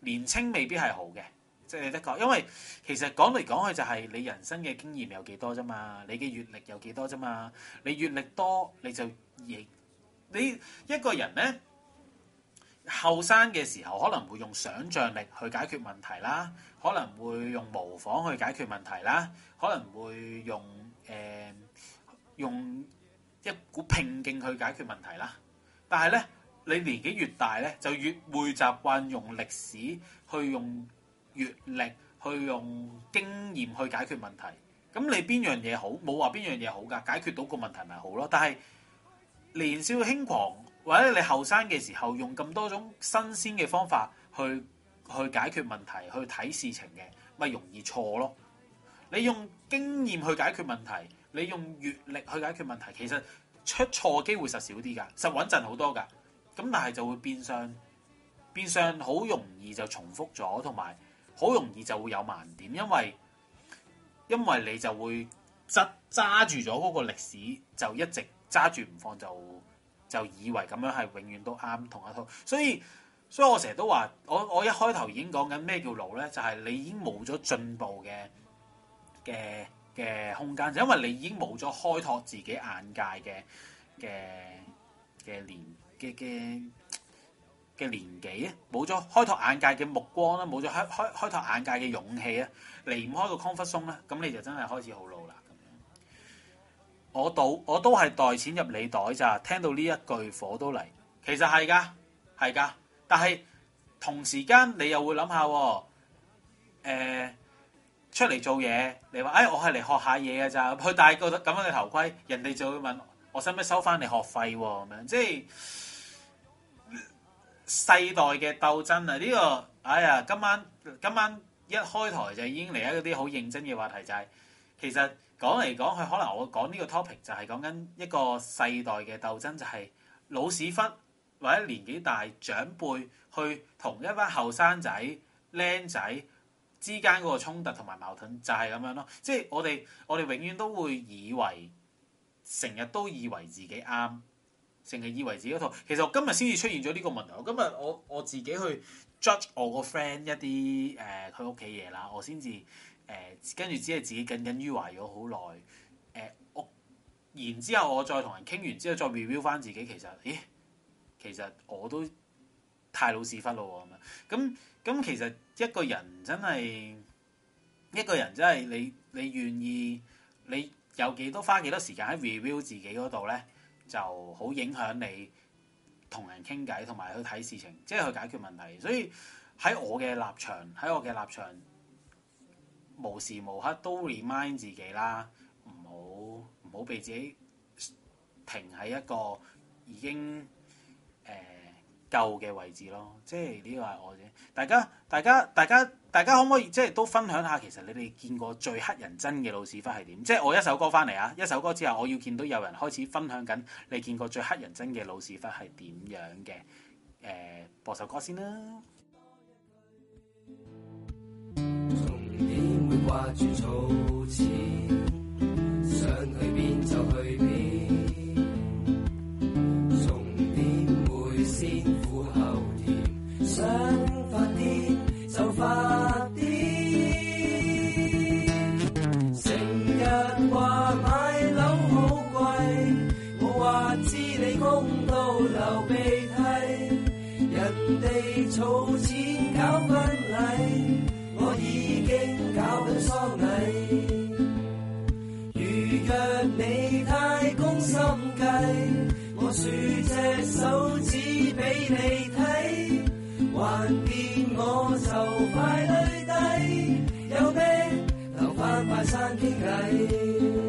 年青未必係好嘅，即係的確，因為其實講嚟講去就係你人生嘅經驗有幾多啫嘛，你嘅閲歷有幾多啫嘛，你閲歷多你就亦你一個人咧。後生嘅時候可能會用想像力去解決問題啦，可能會用模仿去解決問題啦，可能會用誒、呃、用一股拼勁去解決問題啦。但係咧，你年紀越大咧，就越會習慣用歷史去用閲歷去用經驗去解決問題。咁你邊樣嘢好？冇話邊樣嘢好㗎，解決到個問題咪好咯。但係年少輕狂。或者你後生嘅時候用咁多種新鮮嘅方法去去解決問題、去睇事情嘅，咪容易錯咯。你用經驗去解決問題，你用閲歷去解決問題，其實出錯機會實少啲㗎，實穩陣好多㗎。咁但係就會變相變相好容易就重複咗，同埋好容易就會有盲點，因為因為你就會執揸住咗嗰個歷史，就一直揸住唔放就。就以為咁樣係永遠都啱同一套，所以所以我成日都話，我我一開頭已經講緊咩叫老咧，就係、是、你已經冇咗進步嘅嘅嘅空間，就因為你已經冇咗開拓自己眼界嘅嘅嘅年嘅嘅嘅年紀啊，冇咗開拓眼界嘅目光啦，冇咗開開開拓眼界嘅勇氣啊，離唔開個 comfort zone咧，咁你就真係開始好老啦。我賭我都係袋錢入你袋咋，聽到呢一句火都嚟，其實係㗎，係㗎，但係同時間你又會諗下，誒、呃、出嚟做嘢，你話誒、哎、我係嚟學下嘢㗎咋，佢戴個咁樣嘅頭盔，人哋就會問我使唔使收翻你學費喎咁樣，即係世代嘅鬥爭啊！呢、這個哎呀，今晚今晚一開台就已經嚟一啲好認真嘅話題，就係、是、其實。講嚟講去，可能我講呢個 topic 就係講緊一個世代嘅鬥爭，就係、是、老屎忽或者年紀大長輩去同一班後生仔、僆仔之間嗰個衝突同埋矛盾，就係咁樣咯。即係我哋我哋永遠都會以為，成日都以為自己啱，成日以為自己嗰套。其實我今日先至出現咗呢個問題。我今日我我自己去 judge 我個 friend 一啲誒佢屋企嘢啦，我先至。誒跟住只係自己耿耿於懷咗好耐，誒、呃、我然之後我再同人傾完之後再 review 翻自己，其實，咦，其實我都太老屎忽咯咁樣，咁咁其實一個人真係一個人真係你你願意你有幾多花幾多時間喺 review 自己嗰度咧，就好影響你同人傾偈同埋去睇事情，即係去解決問題。所以喺我嘅立場，喺我嘅立場。無時無刻都 remind 自己啦，唔好唔好俾自己停喺一個已經誒、呃、夠嘅位置咯。即係呢個係我啫。大家大家大家大家可唔可以即係都分享下，其實你哋見過最乞人憎嘅老屎忽係點？即係我一首歌翻嚟啊，一首歌之後我要見到有人開始分享緊你見過最乞人憎嘅老屎忽係點樣嘅？誒、呃，播首歌先啦。 掛住儲錢，想去邊就去邊，重點會先苦後甜，想發癲就發癲，成日話買樓好貴，我話知你供到流鼻涕，人哋儲錢搞婚禮。我已經搞緊喪禮，如若你太攻心計，我豎隻手指俾你睇，還見我就快累低，有咩留返拜山傾偈。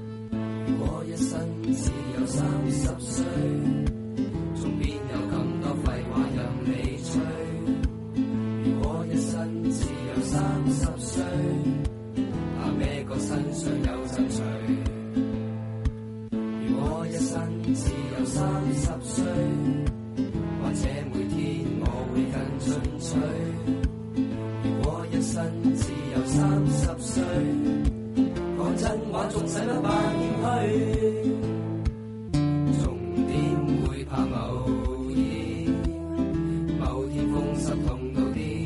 三十歲，仲邊有咁多歲，講真話仲使乜扮謙虛？仲點會怕某兒？某天風濕痛到啲，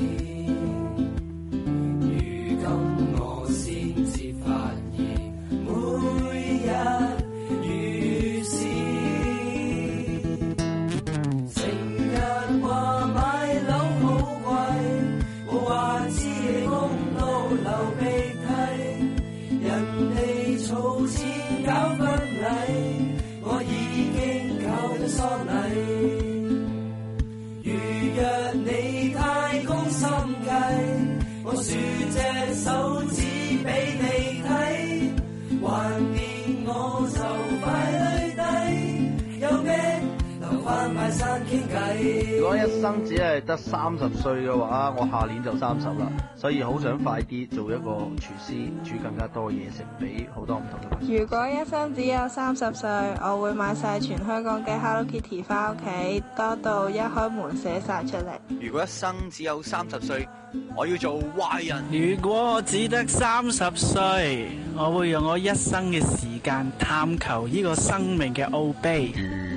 如今我先至發現，每日如是，成日話買樓好貴，我話知你供到流鼻涕，人哋儲錢搞婚禮，我已經搞咗喪禮。如若你太攻心計，我豎隻手指俾你睇，橫掂我就快累低，有咩留返拜山傾偈。 如果一生只係得三十歲嘅話，我下年就三十啦，所以好想快啲做一個廚師，煮更加多嘢食俾好多唔同嘅朋友。 如果一生只有三十歲，我會買晒全香港嘅 Hello Kitty 翻屋企，多到一開門寫晒出嚟。 如果一生只有三十歲，我要做壞人。 如果我只得三十歲，我會用我一生嘅時間探求呢個生命嘅奧秘。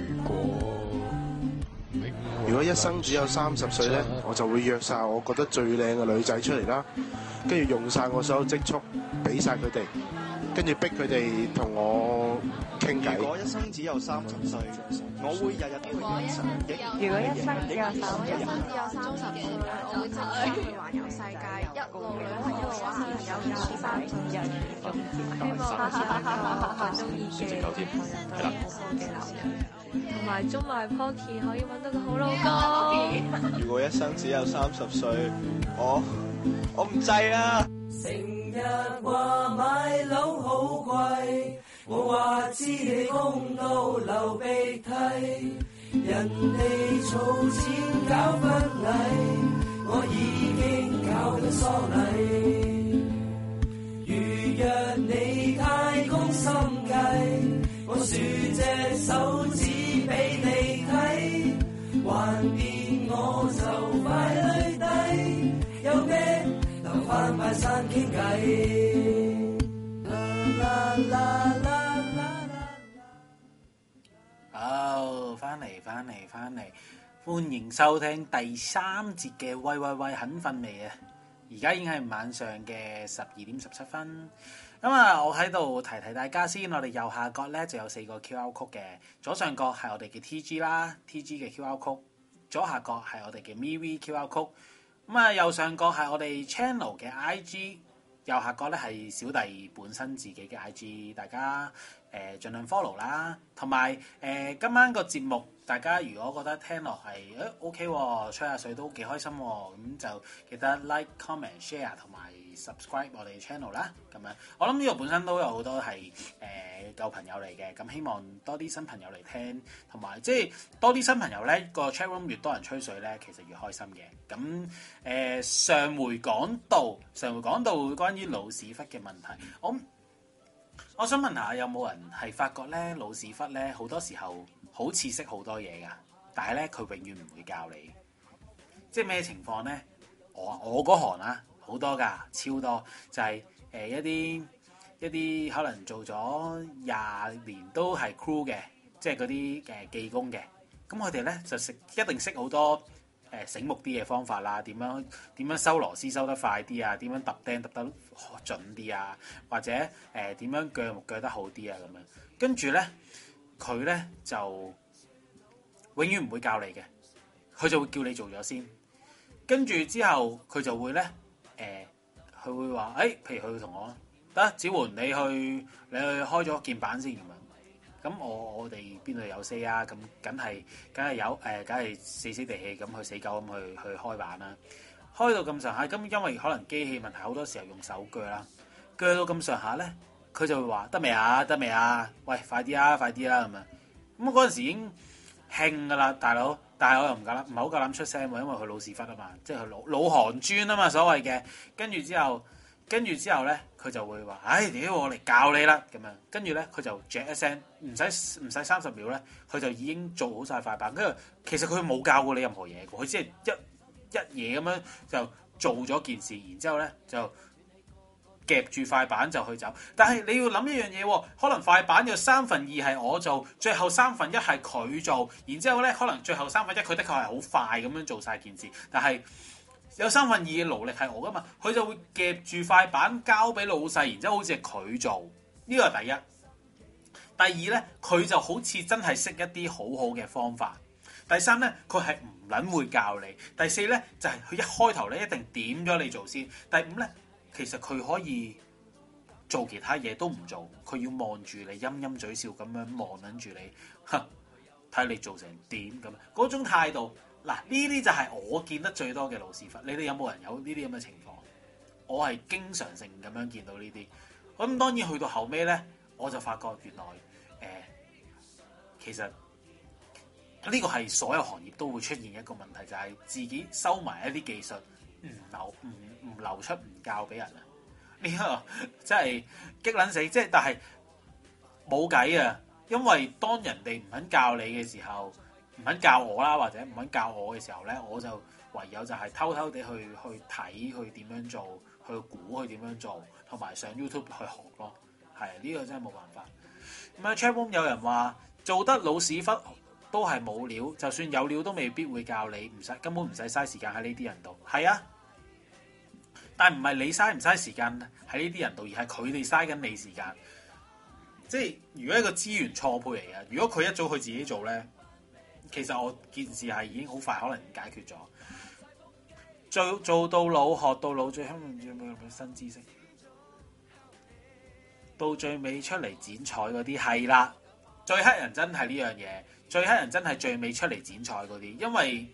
如果一生只有三十歲咧，我就會約晒我覺得最靚嘅女仔出嚟啦，跟住用晒我所有積蓄，俾晒佢哋，跟住逼佢哋同我傾偈。 如果一生只有三十歲，我會日日都去影相。 如果一生只有三十歲， 三十歲，我會真係去環遊世界，一路旅行一路玩，有有三種人種希望好似一個中意嘅人對好好嘅男人。同埋中埋 Pocky 可以揾到個好老公。 如果一生只有三十歲，我我唔制啊！ 成日話買樓好貴，我話知你供到流鼻涕，人哋儲錢搞婚禮，我已經搞咗喪禮。如若你太攻心計，我豎隻手指俾你睇，橫掂我就快累低，有咩留返拜山傾偈。啦啦啦啦啦！ 好，翻嚟翻嚟翻嚟，歡迎收聽第三節嘅喂喂喂，肯瞓未啊？而家已經係晚上嘅十二點十七分。咁啊，我喺度提提大家先，我哋右下角咧就有四個 Q R code 嘅，左上角係我哋嘅 T G 啦 ，T G 嘅 Q R code，左下角係我哋嘅 M V Q R code，咁啊右上角係我哋 channel 嘅 I G， 右下角咧係小弟本身自己嘅 I G， 大家誒盡量 follow 啦，同埋誒今晚個節目，大家如果覺得聽落係誒 OK 喎，吹下水都幾開心喎，咁就記得 like、comment、share 同埋 subscribe 我哋 channel 啦。咁樣我諗呢個本身都有好多係誒舊朋友嚟嘅，咁希望多啲新朋友嚟聽，同埋即係多啲新朋友咧，個 chat room 越多人吹水咧，其實越開心嘅。咁誒、呃、上回講到上回講到關於老屎忽嘅問題，我我想問下有冇人係發覺咧老屎忽咧好多時候好似識好多嘢㗎，但係咧佢永遠唔會教你，即係咩情況咧？我我嗰行啊好多㗎，超多，就係、是、誒、呃、一啲一啲可能做咗廿年都係 crew 嘅，即係嗰啲誒技工嘅，咁佢哋咧就識一定識好多誒、呃、醒目啲嘅方法啦，點樣點樣收螺絲收得快啲啊，點樣揼釘揼得準啲啊，或者誒點、呃、樣鋸木鋸得好啲啊咁樣，跟住咧佢咧就永遠唔會教你嘅，佢就會叫你做咗先，跟住之後佢就會咧誒，佢、呃、會話誒、欸，譬如佢會同我得子桓，你去你去開咗鍵盤先咁樣，咁我我哋邊度有 say 啊？咁梗係梗係有誒，梗係死死地氣咁去死狗咁去去開板啦，開到咁上下，咁因為可能機器問題，好多時候用手鋸啦，鋸到咁上下咧，佢就會話得未啊？得未啊？喂，快啲啊！快啲啦咁樣，咁嗰陣時已經興噶啦，大佬。但係我又唔夠膽，唔係好夠膽出聲喎，因為佢老屎忽啊嘛，即係佢老老行專啊嘛，所謂嘅。跟住之後，跟住之後咧，佢就會話：唉，屌我嚟教你啦咁樣。跟住咧，佢就嚼一聲，唔使唔使三十秒咧，佢就已經做好晒塊板。跟住其實佢冇教過你任何嘢，佢只係一一嘢咁樣就做咗件事，然之後咧就夾住塊板就去走。但係你要諗一樣嘢喎，可能塊板有三分二係我做，最後三分一係佢做，然之後咧可能最後三分一佢的確係好快咁樣做晒件事，但係有三分二嘅勞力係我噶嘛，佢就會夾住塊板交俾老細，然之後好似係佢做，呢個係第一。第二咧，佢就好似真係識一啲好好嘅方法。第三咧，佢係唔撚會教你。第四咧，就係、是、佢一開頭咧一定點咗你做先。第五咧，其實佢可以做其他嘢都唔做，佢要望住你陰陰嘴笑咁樣望撚住你，哼，睇你做成點咁。嗰種態度，嗱呢啲就係我見得最多嘅老屎忽。你哋有冇人有呢啲咁嘅情況？我係經常性咁樣見到呢啲。咁當然去到後尾咧，我就發覺原來。誒、呃，其實呢個係所有行業都會出現一個問題，就係、是、自己收埋一啲技術，唔流唔唔流出，唔教俾人啊！呢、這個真係激撚死，即係但係冇計啊！因為當人哋唔肯教你嘅時候，唔肯教我啦，或者唔肯教我嘅時候咧，我就唯有就係偷偷地去去睇，去點樣做，去估佢點樣做，同埋上 YouTube 去學咯。係呢、這個真係冇辦法。咁啊 ，chatroom 有人話做得老屎忽都係冇料，就算有料都未必會教你，唔使根本唔使嘥時間喺呢啲人度。係啊，但唔係你嘥唔嘥時間喺呢啲人度，而係佢哋嘥緊你時間。即係如果一個資源錯配嚟嘅，如果佢一早佢自己做咧，其實我件事係已經好快可能解決咗。做做到老學到老，最香有冇新知識？到最尾出嚟剪彩嗰啲係啦，最黑人真係呢樣嘢，最黑人真係最尾出嚟剪彩嗰啲，因為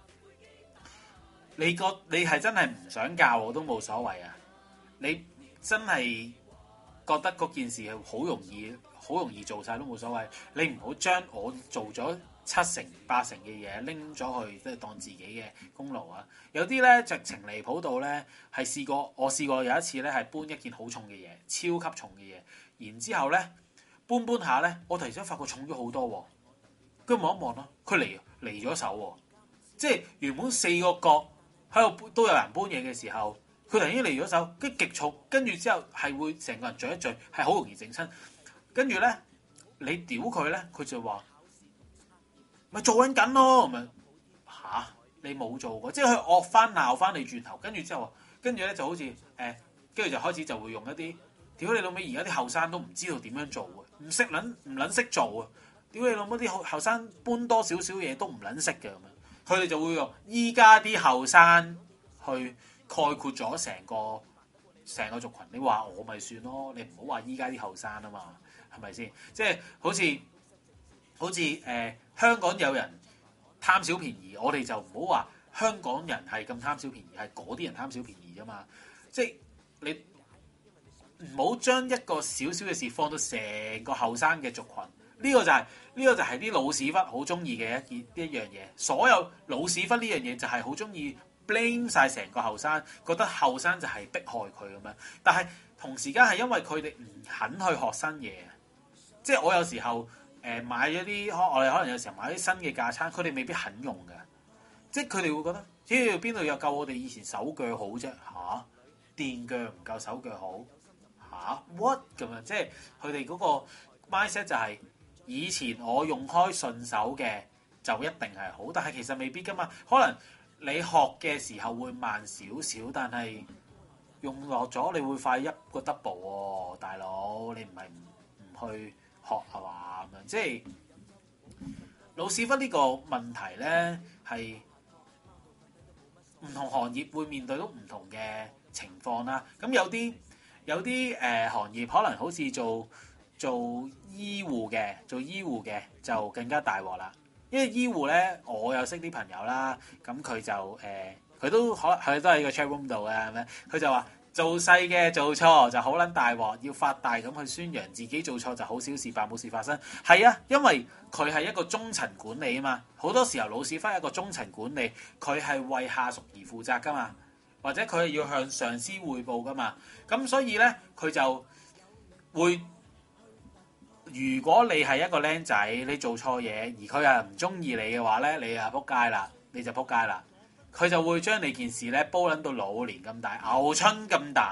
你個你係真係唔想教我都冇所謂啊！你真係覺得嗰件事係好容易，好容易做晒都冇所謂。你唔好將我做咗七成八成嘅嘢拎咗去，即係當自己嘅功勞啊！有啲咧直情離譜到咧，係試過我試過有一次咧係搬一件好重嘅嘢，超級重嘅嘢，然之後咧搬搬下咧，我突然間發覺重咗好多喎，跟住望一望咯，佢離離咗手喎，即係原本四個角喺度都有人搬嘢嘅時候，佢突然間離咗手，跟住極重，跟住之後係會成個人聚一聚，係好容易整親。跟住咧你屌佢咧，佢就話咪做緊緊咯，咪嚇你冇做過，即係佢惡翻鬧翻你轉頭，跟住之後，跟住咧就好似誒，跟、欸、住就開始就會用一啲屌你老味，而家啲後生都唔知道點樣做嘅，唔識撚唔撚識做啊！屌你老母啲後後生搬多少少嘢都唔撚識嘅咁樣，佢哋就會用依家啲後生去概括咗成個成個族群。你話我咪算咯，你唔好話依家啲後生啊嘛，係咪先？即係好似好似誒、呃、香港有人貪小便宜，我哋就唔好話香港人係咁貪小便宜，係嗰啲人貪小便宜啫嘛。即係你唔好將一個小小嘅事放到成個後生嘅族群。呢個就係、是、呢、這個就係啲老屎忽好中意嘅一件一樣嘢。所有老屎忽呢樣嘢就係好中意 blame 晒成個後生，覺得後生就係迫害佢咁樣。但係同時間係因為佢哋唔肯去學新嘢。即係我有時候誒、呃、買咗啲，我哋可能有時候買啲新嘅架撐，佢哋未必肯用嘅。即係佢哋會覺得，咦邊度有夠我哋以前手腳好啫？嚇，電腳唔夠手腳好嚇 what 咁樣？即係佢哋嗰個 mindset 就係、是。以前我用開順手嘅就一定係好，但係其實未必噶嘛。可能你學嘅時候會慢少少，但係用落咗你會快一個 double 喎，大佬你唔係唔唔去學係嘛咁樣？即係老屎忽呢個問題咧，係唔同行業會面對到唔同嘅情況啦。咁有啲有啲誒、呃、行業可能好似做。做醫護嘅，做醫護嘅就更加大鑊啦。因為醫護咧，我有識啲朋友啦，咁佢就誒，佢、呃、都可佢都喺個 chat room 度嘅，係咪？佢就話做細嘅做錯就好撚大鑊，要發大咁去宣揚自己做錯就好小事，扮冇事發生。係啊，因為佢係一個中層管理啊嘛，好多時候老屎忽一個中層管理，佢係為下屬而負責噶嘛，或者佢係要向上司匯報噶嘛，咁所以咧佢就會。如果你係一個僆仔，你做錯嘢，而佢係唔中意你嘅話咧，你啊仆街啦，你就仆街啦。佢就會將你件事咧煲撚到老年咁大，牛春咁大，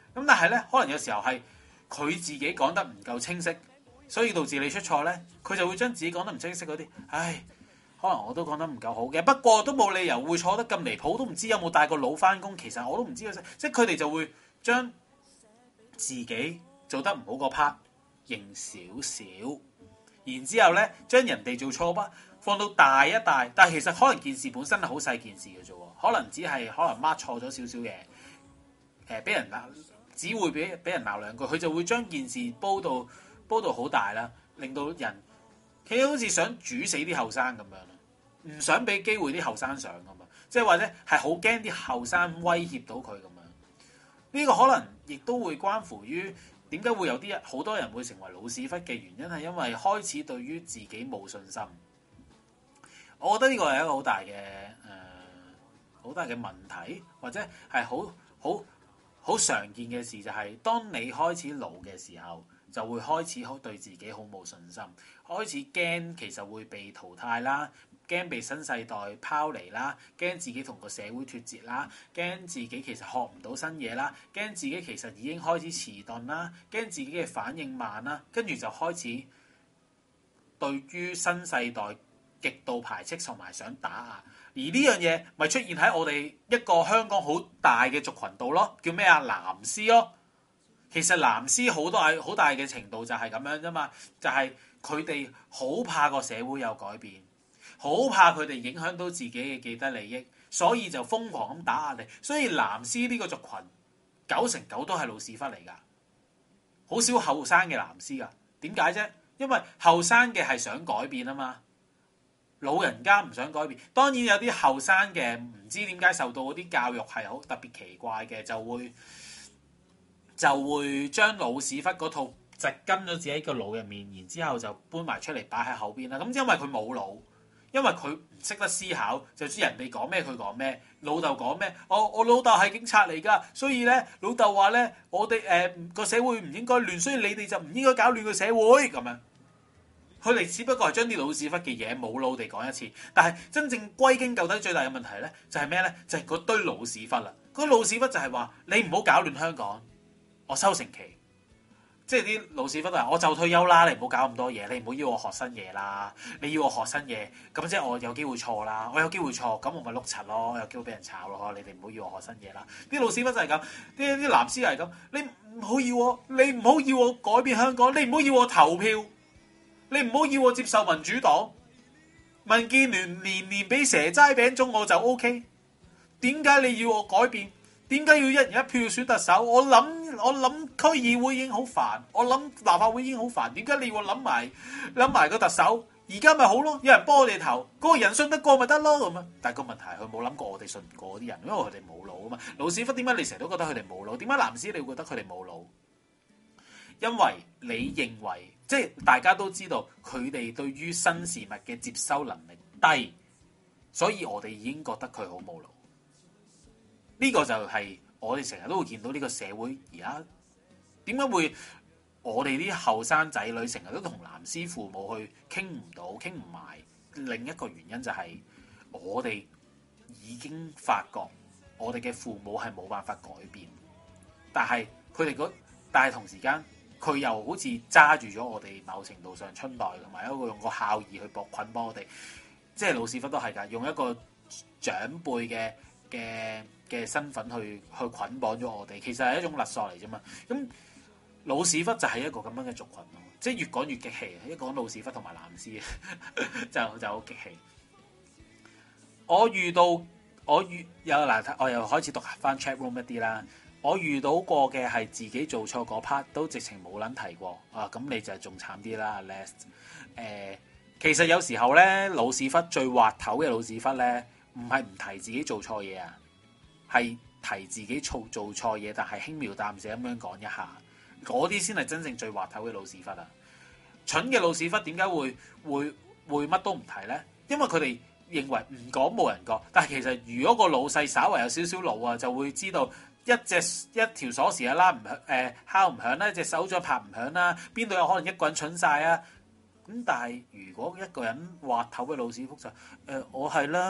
咁但係咧，可能有時候係佢自己講得唔夠清晰，所以導致你出錯咧，佢就會將自己講得唔清晰嗰啲，唉，可能我都講得唔夠好嘅，不過都冇理由會錯得咁離譜，都唔知有冇帶個腦翻工，其實我都唔知嘅啫，即係佢哋就會將自己做得唔好個 part 認少少，然之後咧將人哋做錯 part放到大一大，但係其實可能件事本身係好細件事嘅啫喎，可能只係可能 mark 錯咗少少嘢，誒俾人鬧。只會俾俾人鬧兩句，佢就會將件事煲到煲到好大啦，令到人佢好似想煮死啲後生咁樣，唔想俾機會啲後生上咁嘛，即係或者係好驚啲後生威脅到佢咁樣。呢個可能亦都會關乎於點解會有啲人好多人會成為老屎忽嘅原因，係因為開始對於自己冇信心。我覺得呢個係一個好大嘅誒好大嘅問題，或者係好好。好常見嘅事就係，當你開始老嘅時候，就會開始好對自己好冇信心，開始驚其實會被淘汰啦，驚被新世代拋離啦，驚自己同個社會脫節啦，驚自己其實學唔到新嘢啦，驚自己其實已經開始遲鈍啦，驚自己嘅反應慢啦，跟住就開始對於新世代極度排斥同埋想打壓。而呢樣嘢咪出現喺我哋一個香港好大嘅族群度咯，叫咩啊？藍絲咯。其實藍絲好多係好大嘅程度就係咁樣啫嘛，就係佢哋好怕個社會有改變，好怕佢哋影響到自己嘅既得利益，所以就瘋狂咁打壓你。所以藍絲呢個族群九成九都係老屎忽嚟㗎，好少後生嘅藍絲㗎。點解啫？因為後生嘅係想改變啊嘛。老人家唔想改變，當然有啲後生嘅唔知點解受到嗰啲教育係好特別奇怪嘅，就會就會將老屎忽嗰套植根咗自己個腦入面，然之後就搬埋出嚟擺喺後邊啦。咁因為佢冇腦，因為佢唔識得思考，就知人哋講咩佢講咩，老豆講咩，我我老豆係警察嚟㗎，所以咧老豆話咧我哋誒個社會唔應該亂，所以你哋就唔應該搞亂個社會咁樣。佢哋只不過係將啲老屎忽嘅嘢冇腦地講一次，但係真正歸根究底最大嘅問題咧，就係咩咧？就係、是、嗰堆老屎忽啦。嗰、那個、老屎忽就係話你唔好搞亂香港，我收成期。即係啲老屎忽話我就退休啦，你唔好搞咁多嘢，你唔好要我學新嘢啦。你要我學新嘢，咁即係我有機會錯啦。我有機會錯，咁我咪碌柒咯，有機會俾人炒咯。你哋唔好要我學新嘢啦。啲老屎忽就係咁，啲啲藍絲係咁。你唔好要我，你唔好要我改變香港，你唔好要我投票。你唔好要我接受民主黨，民建聯年年俾蛇齋餅糭我就 O K。點解你要我改變？點解要一人一票選特首？我諗我諗區議會已經好煩，我諗立法會已經好煩。點解你要我諗埋諗埋個特首？而家咪好咯，有人幫我哋投，嗰、那個人信得過咪得咯咁啊！但係個問題係佢冇諗過我哋信唔過啲人，因為佢哋冇腦啊嘛。老屎忽點解你成日都覺得佢哋冇腦？點解藍絲你會覺得佢哋冇腦？因為你認為。即係大家都知道佢哋對於新事物嘅接收能力低，所以我哋已經覺得佢好冇腦。呢個就係我哋成日都會見到呢個社會而家點解會我哋啲後生仔女成日都同藍絲父母去傾唔到、傾唔埋。另一個原因就係我哋已經發覺我哋嘅父母係冇辦法改變，但係佢哋嗰但係同時間。佢又好似揸住咗我哋某程度上春代，同埋一個用個孝義去搏捆綁我哋，即係老屎忽都係㗎，用一個長輩嘅嘅嘅身份去去捆綁咗我哋，其實係一種勒索嚟啫嘛。咁老屎忽就係一個咁樣嘅族群咯，即係越講越激氣。一講老屎忽同埋藍絲就就好激氣。我遇到我遇有嗱，我又開始讀翻 chat room 一啲啦。我遇到過嘅係自己做錯嗰 part 都直情冇撚提過啊！咁你就仲慘啲啦 ，last 誒，其實有時候咧，老屎忽最滑頭嘅老屎忽咧，唔係唔提自己做錯嘢啊，係提自己做做錯嘢，但係輕描淡寫咁樣講一下，嗰啲先係真正最滑頭嘅老屎忽啊！蠢嘅老屎忽點解會會會乜都唔提咧？因為佢哋認為唔講冇人覺，但係其實如果個老細稍為有少少腦啊，就會知道。一隻一條鎖匙啊拉唔響誒敲唔響啦，一隻手掌拍唔響啦，邊度有可能一個人蠢晒啊？咁但係如果一個人滑頭嘅老屎忽就誒、呃、我係啦，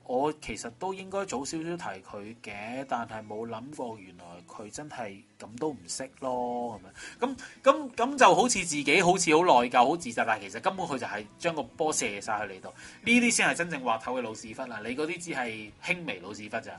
我其實都應該早少少提佢嘅，但係冇諗過原來佢真係咁都唔識咯，咁樣咁咁咁就好似自己好似好內疚、好自責，但係其實根本佢就係將個波射晒去你度，呢啲先係真正滑頭嘅老屎忽啦，你嗰啲只係輕微老屎忽咋。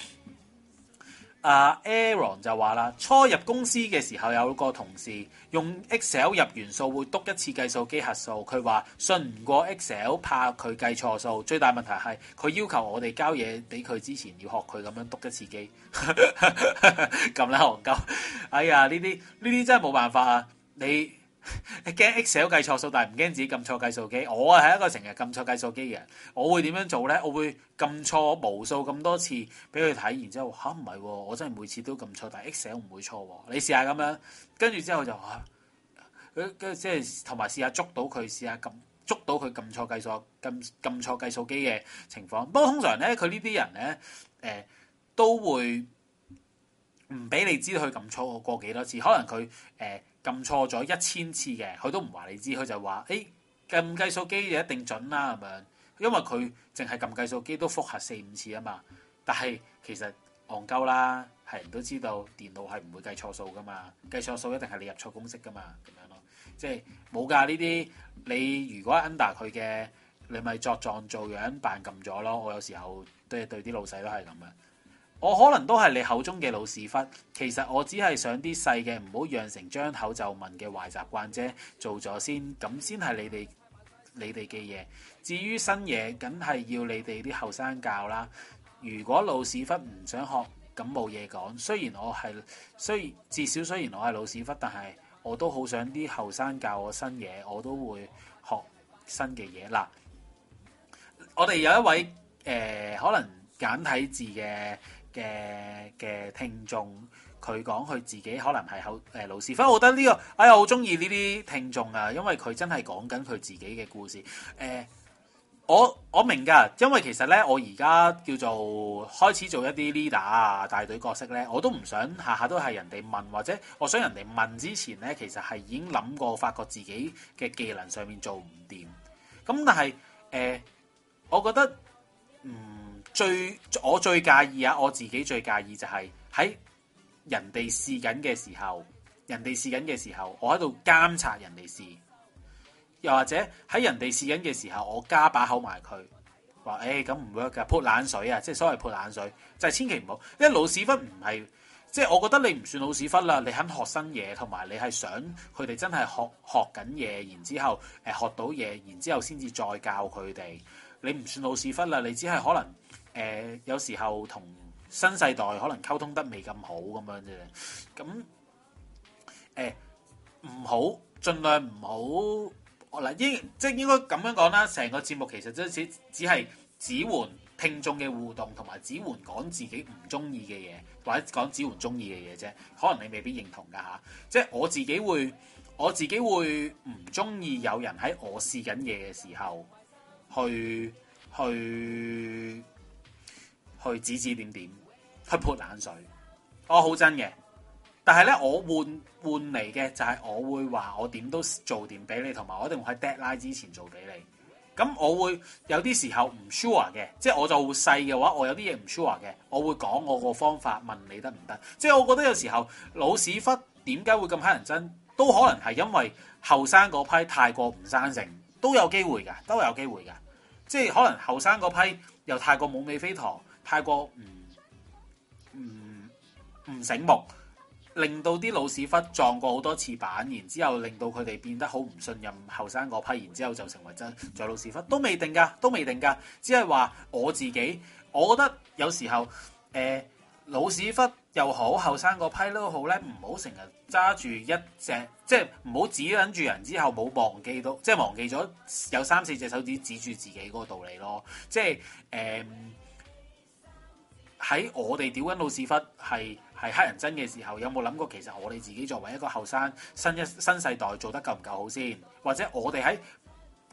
啊、uh, Aaron 就話啦，初入公司嘅時候有個同事用 Excel 入完數會篤一次計數機核數，佢話信唔過 Excel， 怕佢計錯數。最大問題係佢要求我哋交嘢俾佢之前要學佢咁樣篤一次機，咁啦戇鳩。哎呀，呢啲呢啲真係冇辦法啊！你你驚 Excel 計錯數，但係唔驚自己撳錯計數機。我啊係一個成日撳錯計數機嘅人，我會點樣做咧？我會撳錯無數咁多次俾佢睇，然之後吓唔係喎，我真係每次都撳錯，但係 Excel 唔會錯喎。你試下咁樣，跟住之後就嚇，跟跟即係同埋試下捉到佢，試下撳捉到佢撳錯計數、撳撳錯計數機嘅情況。不過通常咧，佢呢啲人咧，誒、呃、都會唔俾你知道佢撳錯過幾多次，可能佢誒。呃撳錯咗一千次嘅，佢都唔話你知，佢就話：誒撳計數機就一定準啦咁樣，因為佢淨係撳計數機都複核四五次啊嘛。但係其實戇鳩啦，係人都知道電腦係唔會計錯數噶嘛，計錯數一定係你入錯公式噶嘛，咁樣咯。即係冇㗎呢啲，你如果 under 佢嘅，你咪作狀做樣扮撳咗咯。我有時候都係對啲老細都係咁嘅。我可能都係你口中嘅老屎忽，其實我只係想啲細嘅唔好養成張口就問嘅壞習慣啫，做咗先，咁先係你哋你哋嘅嘢。至於新嘢，梗係要你哋啲後生教啦。如果老屎忽唔想學，咁冇嘢講。雖然我係雖然至少雖然我係老屎忽，但係我都好想啲後生教我新嘢，我都會學新嘅嘢。嗱，我哋有一位誒、呃、可能簡體字嘅。嘅嘅聽眾，佢講佢自己可能係好誒老屎忽，我覺得呢、這個哎呀好中意呢啲聽眾啊，因為佢真係講緊佢自己嘅故事。誒、呃，我我明㗎，因為其實咧，我而家叫做開始做一啲 leader 啊、大隊角色咧，我都唔想下下都係人哋問，或者我想人哋問之前咧，其實係已經諗過，發覺自己嘅技能上面做唔掂。咁但係誒、呃，我覺得嗯。最我最介意啊！我自己最介意就係喺人哋試緊嘅時候，人哋試緊嘅時候，我喺度監察人哋試，又或者喺人哋試緊嘅時候，我加把口埋佢，話誒咁唔 work 㗎，潑冷水啊！即係所謂潑冷水，就係、是、千祈唔好，因為老屎忽唔係，即係我覺得你唔算老屎忽啦，你肯學新嘢，同埋你係想佢哋真係學學緊嘢，然之後誒學到嘢，然之後先至再教佢哋，你唔算老屎忽啦，你只係可能。誒、呃、有時候同新世代可能溝通得未咁好咁樣啫，咁誒唔好，盡量唔好嗱，應即係應該咁樣講啦。成個節目其實只只係只援聽眾嘅互動，同埋只援講自己唔中意嘅嘢，或者講只援中意嘅嘢啫。可能你未必認同㗎嚇，即係我自己會我自己會唔中意有人喺我試緊嘢嘅時候去去。去指指點點，去潑冷水，我好真嘅。但係咧，我換換嚟嘅就係我會話我點都做掂俾你，同埋我一定會喺 deadline 之前做俾你。咁我會有啲時候唔 sure 嘅，即係我就細嘅話，我有啲嘢唔 sure 嘅，我會講我個方法問你得唔得？即係我覺得有時候老屎忽點解會咁乞人憎，都可能係因為後生嗰批太過唔生性，都有機會㗎，都有機會㗎。即係可能後生嗰批又太過冇尾飛陀。太過唔唔唔醒目，令到啲老屎忽撞過好多次板，然之後令到佢哋變得好唔信任後生嗰批，然之後就成為真做老屎忽，都未定㗎，都未定㗎。只係話我自己，我覺得有時候誒、呃、老屎忽又好，後生嗰批都好咧，唔好成日揸住一隻，即係唔好指撚住人之後冇忘記到，即係忘記咗有三四隻手指指住自己嗰個道理咯，即係誒。呃喺我哋屌緊老屎忽係係黑人憎嘅時候，有冇諗過其實我哋自己作為一個後生新一新世代做得夠唔夠好先？或者我哋喺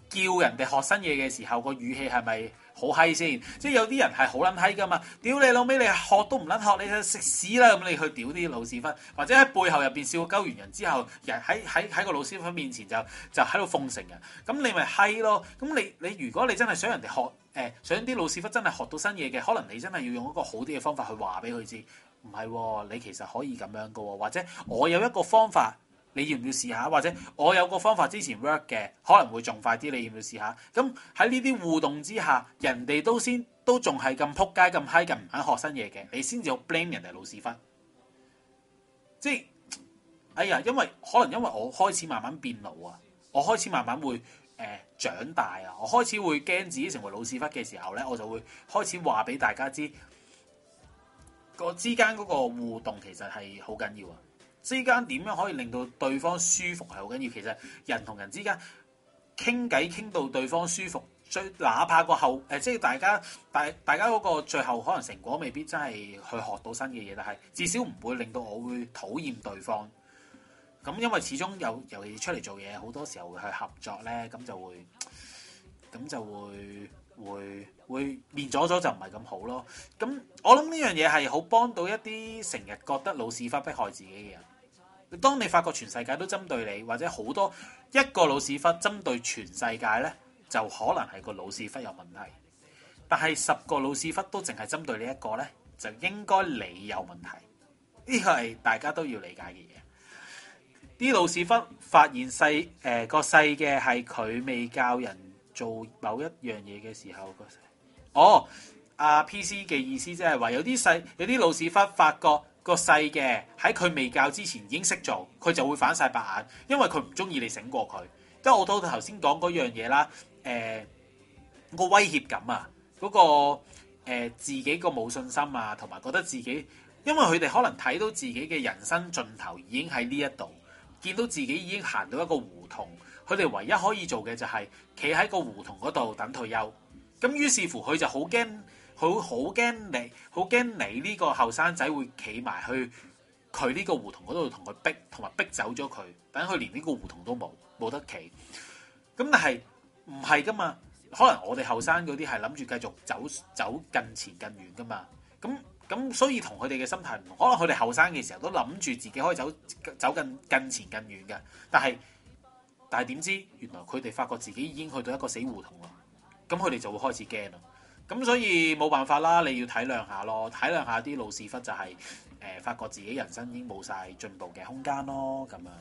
叫人哋學新嘢嘅時候，個語氣係咪好閪先？即係有啲人係好撚閪噶嘛，屌你老味，你學都唔撚學，你就食屎啦！咁你去屌啲老屎忽，或者喺背後入邊笑鳩完人之後，人喺喺喺個老屎忽面前就就喺度奉承人，咁你咪閪咯。咁你你如果你真係想人哋學誒、呃，想啲老屎忽真係學到新嘢嘅，可能你真係要用一個好啲嘅方法去話俾佢知，唔係喎，你其實可以咁樣噶喎，或者我有一個方法。你要唔要試下？或者我有個方法之前 work 嘅，可能會仲快啲。你要唔要試下？咁喺呢啲互動之下，人哋都先都仲係咁撲街咁嗨咁唔肯學新嘢嘅，你先至好 blame 人哋老屎忽。即係哎呀，因為可能因為我開始慢慢變老啊，我開始慢慢會誒、呃、長大啊，我開始會驚自己成為老屎忽嘅時候咧，我就會開始話俾大家知，個之間嗰個互動其實係好緊要啊。之間點樣可以令到對方舒服係好緊要，其實人同人之間傾偈傾到對方舒服，最哪怕個後誒、呃，即係大家大大家嗰個最後可能成果未必真係去學到新嘅嘢，但係至少唔會令到我會討厭對方。咁因為始終有尤其出嚟做嘢，好多時候會去合作咧，咁就會咁就會會會面咗咗就唔係咁好咯。咁我諗呢樣嘢係好幫到一啲成日覺得老屎忽迫害自己嘅人。當你發覺全世界都針對你，或者好多一個老屎忽針對全世界咧，就可能係個老屎忽有問題。但係十個老屎忽都淨係針對你一個咧，就應該你有問題。呢個係大家都要理解嘅嘢。啲老屎忽發現細誒個細嘅係佢未教人做某一樣嘢嘅時候，個細哦阿 P C 嘅意思即係話有啲細有啲老屎忽發覺。個細嘅喺佢未教之前已經識做，佢就會反晒白眼，因為佢唔中意你醒過佢。即係我到頭先講嗰樣嘢啦，誒、呃、個威脅感啊，嗰、嗰個、呃、自己個冇信心啊，同埋覺得自己，因為佢哋可能睇到自己嘅人生盡頭已經喺呢一度，見到自己已經行到一個胡同，佢哋唯一可以做嘅就係企喺個胡同嗰度等退休。咁於是乎佢就好驚。佢好驚你，好驚你呢個後生仔會企埋去佢呢個胡同嗰度同佢逼，同埋逼走咗佢，等佢連呢個胡同都冇，冇得企。咁但係唔係噶嘛？可能我哋後生嗰啲係諗住繼續走走更前更遠噶嘛。咁咁所以同佢哋嘅心態唔同。可能佢哋後生嘅時候都諗住自己可以走走更更前更遠嘅，但係但係點知原來佢哋發覺自己已經去到一個死胡同啦。咁佢哋就會開始驚啦。咁所以冇辦法啦，你要體諒下咯，體諒下啲老屎忽就係、是、誒、呃、發覺自己人生已經冇晒進步嘅空間咯，咁樣。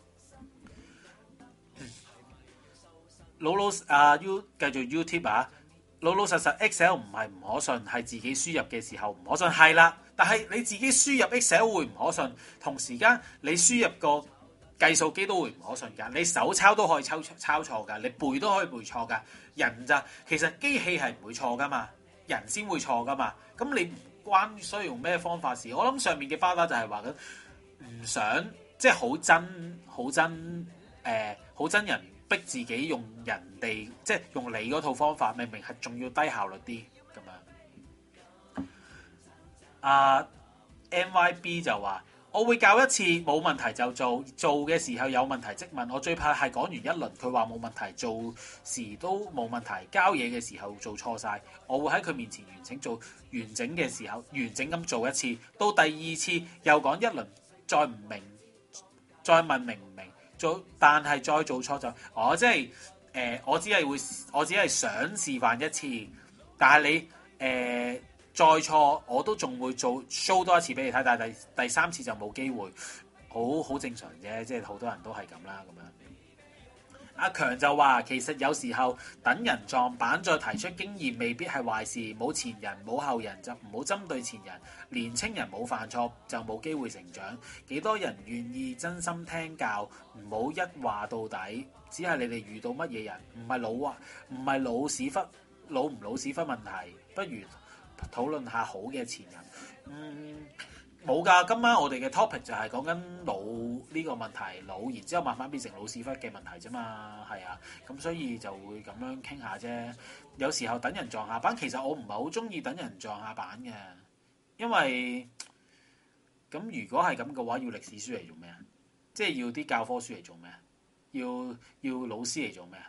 老老啊 U 繼續 YouTube 啊，老老實實 Excel 唔係唔可信，係自己輸入嘅時候唔可信，係啦。但係你自己輸入 Excel 會唔可信，同時間你輸入個計數機都會唔可信㗎，你手抄都可以抄抄錯㗎，你背都可以背錯㗎。人咋，其實機器係唔會錯㗎嘛，人先會錯㗎嘛。咁你唔關需要用咩方法事。我諗上面嘅花花就係話緊唔想即係好真好真誒好真人逼自己用人哋即係用你嗰套方法，明明係仲要低效率啲咁樣。啊、uh, M Y B 就話。我會教一次冇問題就做，做嘅時候有問題即問。我最怕係講完一輪佢話冇問題，做時都冇問題，交嘢嘅時候做錯晒。我會喺佢面前完整做完整嘅時候，完整咁做一次。到第二次又講一輪，再唔明，再問明唔明，做但係再做錯就我即係誒，我只係會，我只係想示範一次，但係你誒。呃再錯我都仲會做 show 多一次俾你睇，但係第第三次就冇機會，好好正常啫，即係好多人都係咁啦咁樣。阿強就話其實有時候等人撞板再提出經驗未必係壞事，冇前人冇後人就唔好針對前人，年青人冇犯錯就冇機會成長，幾多人願意真心聽教，唔好一話到底，只係你哋遇到乜嘢人，唔係老啊，唔係老屎忽老唔老屎忽問題，不如討論下好嘅前人。嗯，冇㗎。今晚我哋嘅 topic 就係講緊老呢個問題，老然之後慢慢變成老屎忽嘅問題啫嘛。係啊，咁所以就會咁樣傾下啫。有時候等人撞下板，其實我唔係好中意等人撞下板嘅，因為咁如果係咁嘅話，要歷史書嚟做咩啊？即係要啲教科書嚟做咩啊？要要老師嚟做咩啊？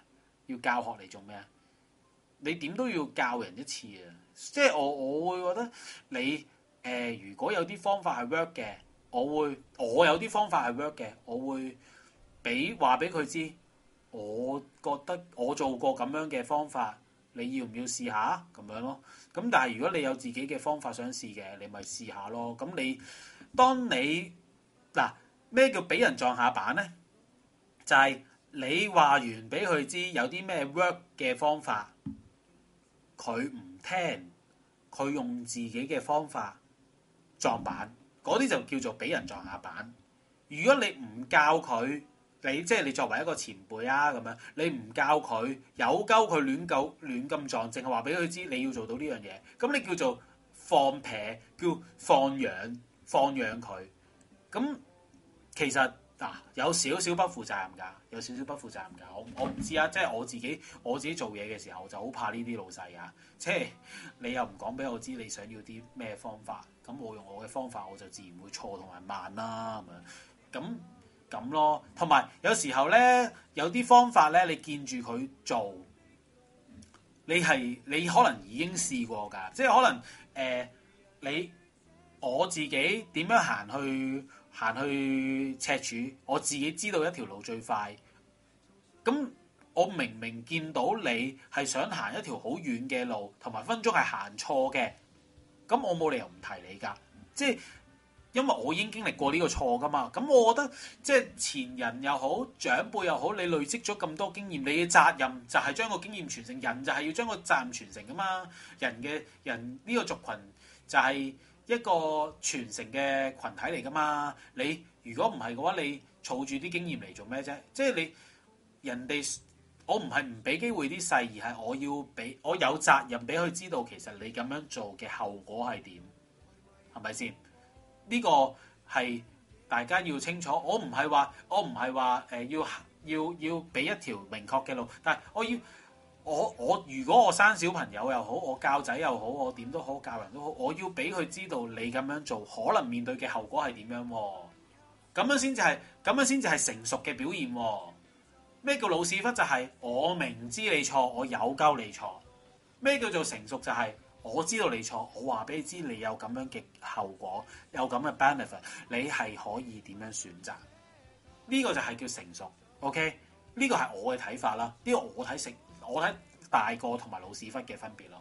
要教學嚟做咩啊？你點都要教人一次啊！即係我我會覺得你誒、呃，如果有啲方法係 work 嘅，我會我有啲方法係 work 嘅，我會俾話俾佢知。我覺得我做過咁樣嘅方法，你要唔要試下咁樣咯？咁但係如果你有自己嘅方法想試嘅，你咪試下咯。咁你當你嗱咩叫俾人撞下板咧？就係、是、你話完俾佢知有啲咩 work 嘅方法，佢唔聽，佢用自己嘅方法撞板，嗰啲就叫做俾人撞下板。如果你唔教佢，你即係你作為一個前輩啊咁樣，你唔教佢，有鳩佢亂鳩亂咁撞，淨係話俾佢知你要做到呢樣嘢，咁你叫做放撇，叫放養放養佢。咁其實嗱、啊、有少少不負責任㗎，有少少不負責任㗎。我我唔知啊，即係我自己我自己做嘢嘅時候就好怕呢啲老細啊，即係你又唔講俾我知你想要啲咩方法，咁我用我嘅方法我就自然會錯同埋慢啦咁樣咁。咁咯，同埋有，有時候咧，有啲方法咧，你見住佢做，你係你可能已經試過㗎，即係可能誒、呃、你我自己點樣行去行去赤柱，我自己知道一條路最快。咁我明明見到你係想行一條好遠嘅路，同埋分鐘係行錯嘅，咁我冇理由唔提你㗎，即係。因為我已經經歷過呢個錯噶嘛，咁我覺得即係前人又好，長輩又好，你累積咗咁多經驗，你嘅責任就係將個經驗傳承，人就係要將個責任傳承噶嘛。人嘅人呢個族群就係一個傳承嘅群體嚟噶嘛。你如果唔係嘅話，你儲住啲經驗嚟做咩啫？即係你人哋，我唔係唔俾機會啲細，而係我要俾我有責任俾佢知道，其實你咁樣做嘅後果係點，係咪先？呢個係大家要清楚，我唔係話我唔係話誒要要要俾一條明確嘅路，但係我要我我如果我生小朋友又好，我教仔又好，我點都好，教人都好，我要俾佢知道你咁樣做可能面對嘅後果係點樣喎？咁樣先至係咁樣先至係成熟嘅表現喎。咩叫老屎忽？就係我明知你錯，我有鳩你錯。咩叫做成熟？就係我知道你錯，我話俾你知你有咁樣嘅後果，有咁嘅 benefit， 你係可以點樣選擇？呢個就係叫成熟。OK，呢個係我嘅睇法啦。呢個我睇成，我睇大個同埋老屎忽嘅分別咯。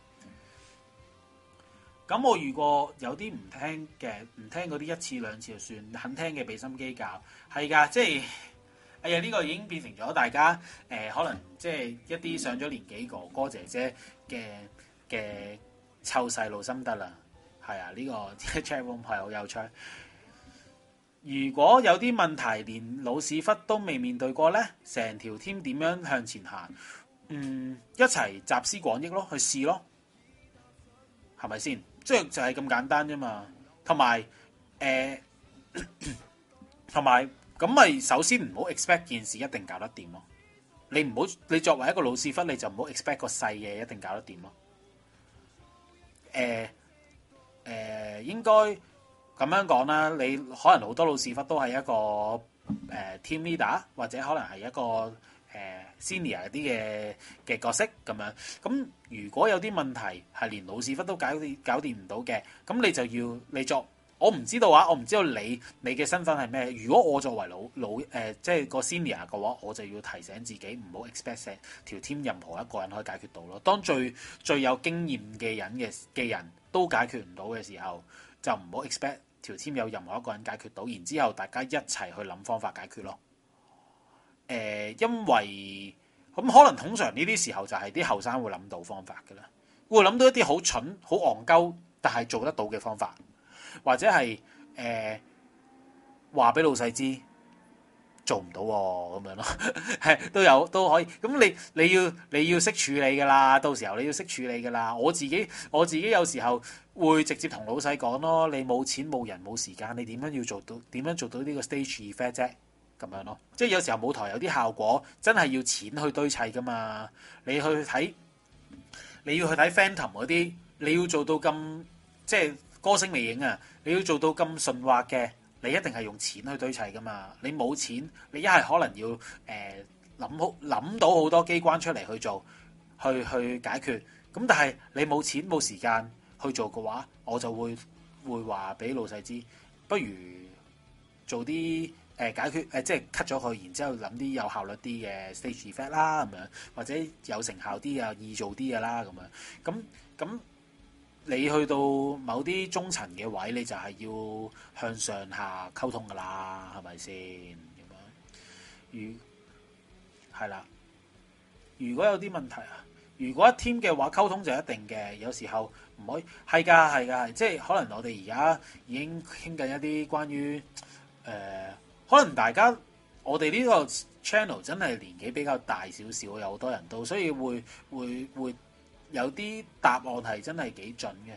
咁我如果有啲唔聽嘅，唔聽嗰啲一次兩次就算，肯聽嘅俾心機教，係㗎，即係。哎呀！呢、這個已經變成咗大家誒、呃，可能即係一啲上咗年紀哥哥姐姐嘅嘅湊細路心得啦。係啊，呢、這個 chat room 係好有趣。如果有啲問題連老屎忽都未面對過咧，成條 team 點樣向前行？嗯，一齊集思廣益咯，去試咯，係咪先？即係就係咁簡單啫嘛。同埋誒，同埋。咁咪首先唔好 expect 件事一定搞得掂咯。你唔好，你作為一個老屎忽，你就唔好 expect 個細嘢一定搞得掂咯。誒、呃、誒、呃，應該咁樣講啦。你可能好多老屎忽都係一個誒、呃、team leader，或者可能係一個誒、呃、senior 啲嘅嘅角色咁樣。咁如果有啲問題係連老屎忽都搞掂搞掂唔到嘅，咁你就要你作。我唔知道啊，我唔知道你你嘅身份係咩。如果我作為老老誒、呃，即係個 senior 嘅話，我就要提醒自己唔好 expect 條 team 任何一個人可以解決到咯。當最最有經驗嘅人嘅嘅人都解決唔到嘅時候，就唔好 expect 條 team 有任何一個人解決到。然之後大家一齊去諗方法解決咯。誒、呃，因為咁、嗯、可能通常呢啲時候就係啲後生會諗到方法㗎啦，會諗到一啲好蠢、好戇鳩，但係做得到嘅方法。或者係誒話俾老細知做唔到喎，咁樣咯，係都有都可以。咁你你要你要識處理噶啦，到時候你要識處理噶啦。我自己我自己有時候會直接同老細講咯，你冇錢冇人冇時間，你點樣要做到點樣做到呢個 stage effect 啫？咁樣咯，即係有時候舞台有啲效果真係要錢去堆砌噶嘛。你去睇你要去睇 Phantom 嗰啲，你要做到咁即係。歌聲魅影啊！你要做到咁順滑嘅，你一定係用錢去堆砌噶嘛。你冇錢，你一係可能要誒諗好諗到好多機關出嚟去做，去去解決。咁但係你冇錢冇時間去做嘅話，我就會會話俾老細知，不如做啲誒、呃、解決誒、呃，即係 cut 咗佢，然之後諗啲有效率啲嘅 stage effect 啦，咁樣或者有成效啲啊，易做啲嘅啦，咁樣咁咁。你去到某啲中層嘅位，你就係要向上下溝通噶啦，係咪先咁樣？如係啦，如果有啲問題啊，如果一 team 嘅話，溝通就一定嘅，有時候唔可以係㗎，係㗎，即係可能我哋而家已經傾緊一啲關於誒、呃，可能大家我哋呢個 channel 真係年紀比較大少少，有好多人都，所以會會會。有啲答案係真係幾準嘅。誒、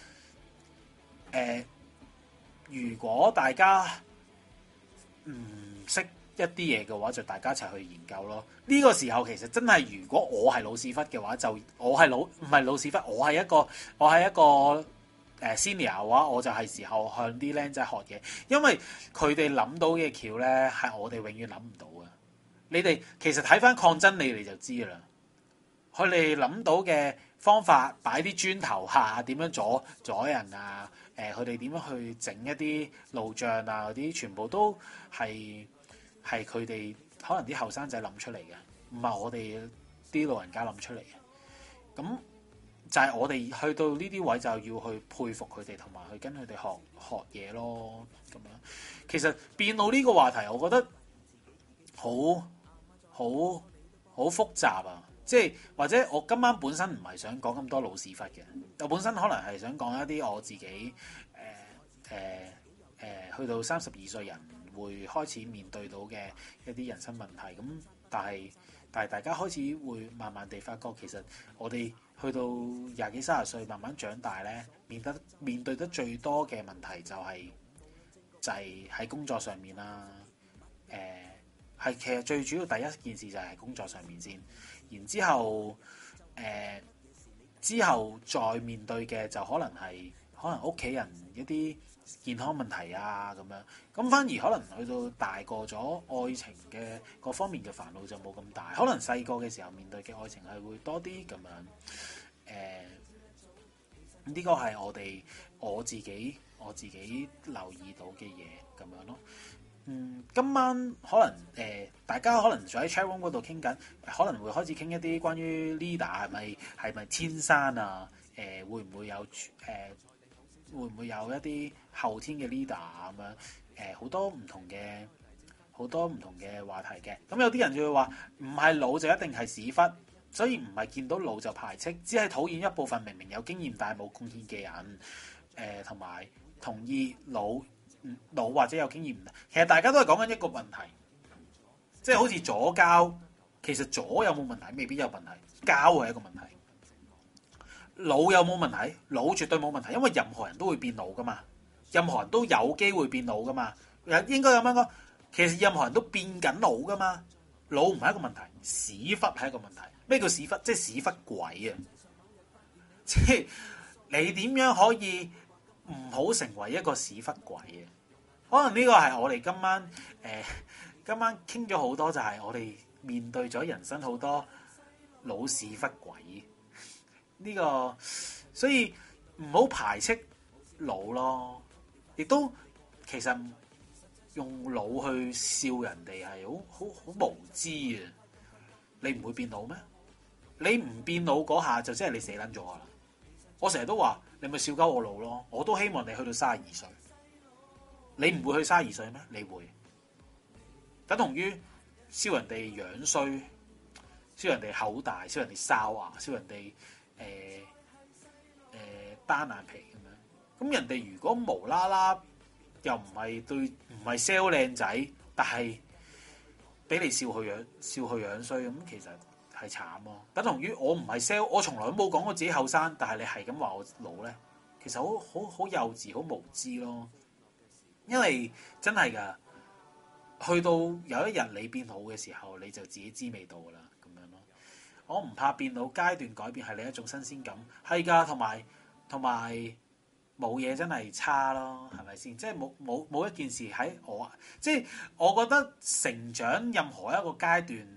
呃，如果大家唔識一啲嘢嘅話，就大家一齊去研究咯。呢、這個時候其實真係，如果我係老屎忽嘅話，就我係老唔係老屎忽，我係一個我係一個誒、呃、senior 嘅話，我就係時候向啲僆仔學嘢，因為佢哋諗到嘅橋咧係我哋永遠諗唔到嘅。你哋其實睇翻抗爭你哋就知啦。佢哋諗到嘅方法，擺啲磚頭下點樣阻阻人啊？誒、呃，佢哋點樣去整一啲路障啊？嗰啲全部都係係佢哋可能啲後生仔諗出嚟嘅，唔係我哋啲老人家諗出嚟嘅。咁就係我哋去到呢啲位就要去佩服佢哋，同埋去跟佢哋學學嘢咯。咁樣其實變老呢個話題，我覺得好好好複雜啊！即係或者我今晚本身唔係想講咁多老屎忽嘅，我本身可能係想講一啲我自己誒誒誒去到三十二歲人會開始面對到嘅一啲人生問題。咁但係但係大家開始會慢慢地發覺，其實我哋去到廿幾三十歲慢慢長大咧，面得面對得最多嘅問題就係就係喺工作上面啦。誒係其實最主要第一件事就係工作上面先。然之後，誒、呃、之後再面對嘅就可能係可能屋企人一啲健康問題啊咁樣，咁反而可能去到大個咗，愛情嘅各方面嘅煩惱就冇咁大。可能細個嘅時候面對嘅愛情係會多啲咁樣。誒、呃，呢個係我哋我自己我自己留意到嘅嘢咁樣咯。嗯，今晚可能誒、呃，大家可能就喺 chat room 嗰度傾緊，可能會開始傾一啲關於 leader 係咪係咪天生啊？誒、呃，會唔會有誒、呃，會唔會有一啲後天嘅 leader 咁樣？誒、呃，好多唔同嘅好多唔同嘅話題嘅。咁有啲人就會話，唔係老就一定係屎忽，所以唔係見到老就排斥，只係討厭一部分明明有經驗但係冇貢獻嘅人。誒、呃，同埋同意老。老或者有經驗唔得，其實大家都係講緊一個問題，即係好似左膠，其實左有冇問題？未必有問題，膠係一個問題。老有冇問題？老絕對冇問題，因為任何人都會變老噶嘛，任何人都有機會變老噶嘛。應該咁樣講，其實任何人都變緊老噶嘛。老唔係一個問題，屎忽係一個問題。咩叫屎忽？即係屎忽鬼啊！即係你點樣可以唔好成為一個屎忽鬼啊？可能呢個係我哋今晚誒、呃、今晚傾咗好多，就係我哋面對咗人生好多老屎忽鬼呢、這個，所以唔好排斥老咯，亦都其實用老去笑人哋係好好好無知啊！你唔會變老咩？你唔變老嗰下就即係你死撚咗啦！我成日都話你咪笑鳩我老咯，我都希望你去到三十二歲。你唔會去三十二歲咩？你會，等同於笑人哋樣衰，笑人哋口大，笑人哋哨牙，笑人哋誒誒單眼皮咁樣。咁人哋如果無啦啦又唔係對唔係 sell 靚仔，但係俾你笑佢樣笑佢樣衰，咁其實係慘咯。等同於我唔係 sell，我從來都冇講過自己後生，但係你係咁話我老咧，其實好好好幼稚，好無知咯。因為真係噶，去到有一日你變老嘅時候，你就自己知味道噶啦，咁樣咯。我唔怕變老，階段改變係另一種新鮮感，係噶，同埋同埋冇嘢真係差咯，係咪先？即係冇冇冇一件事喺我，即係我覺得成長任何一個階段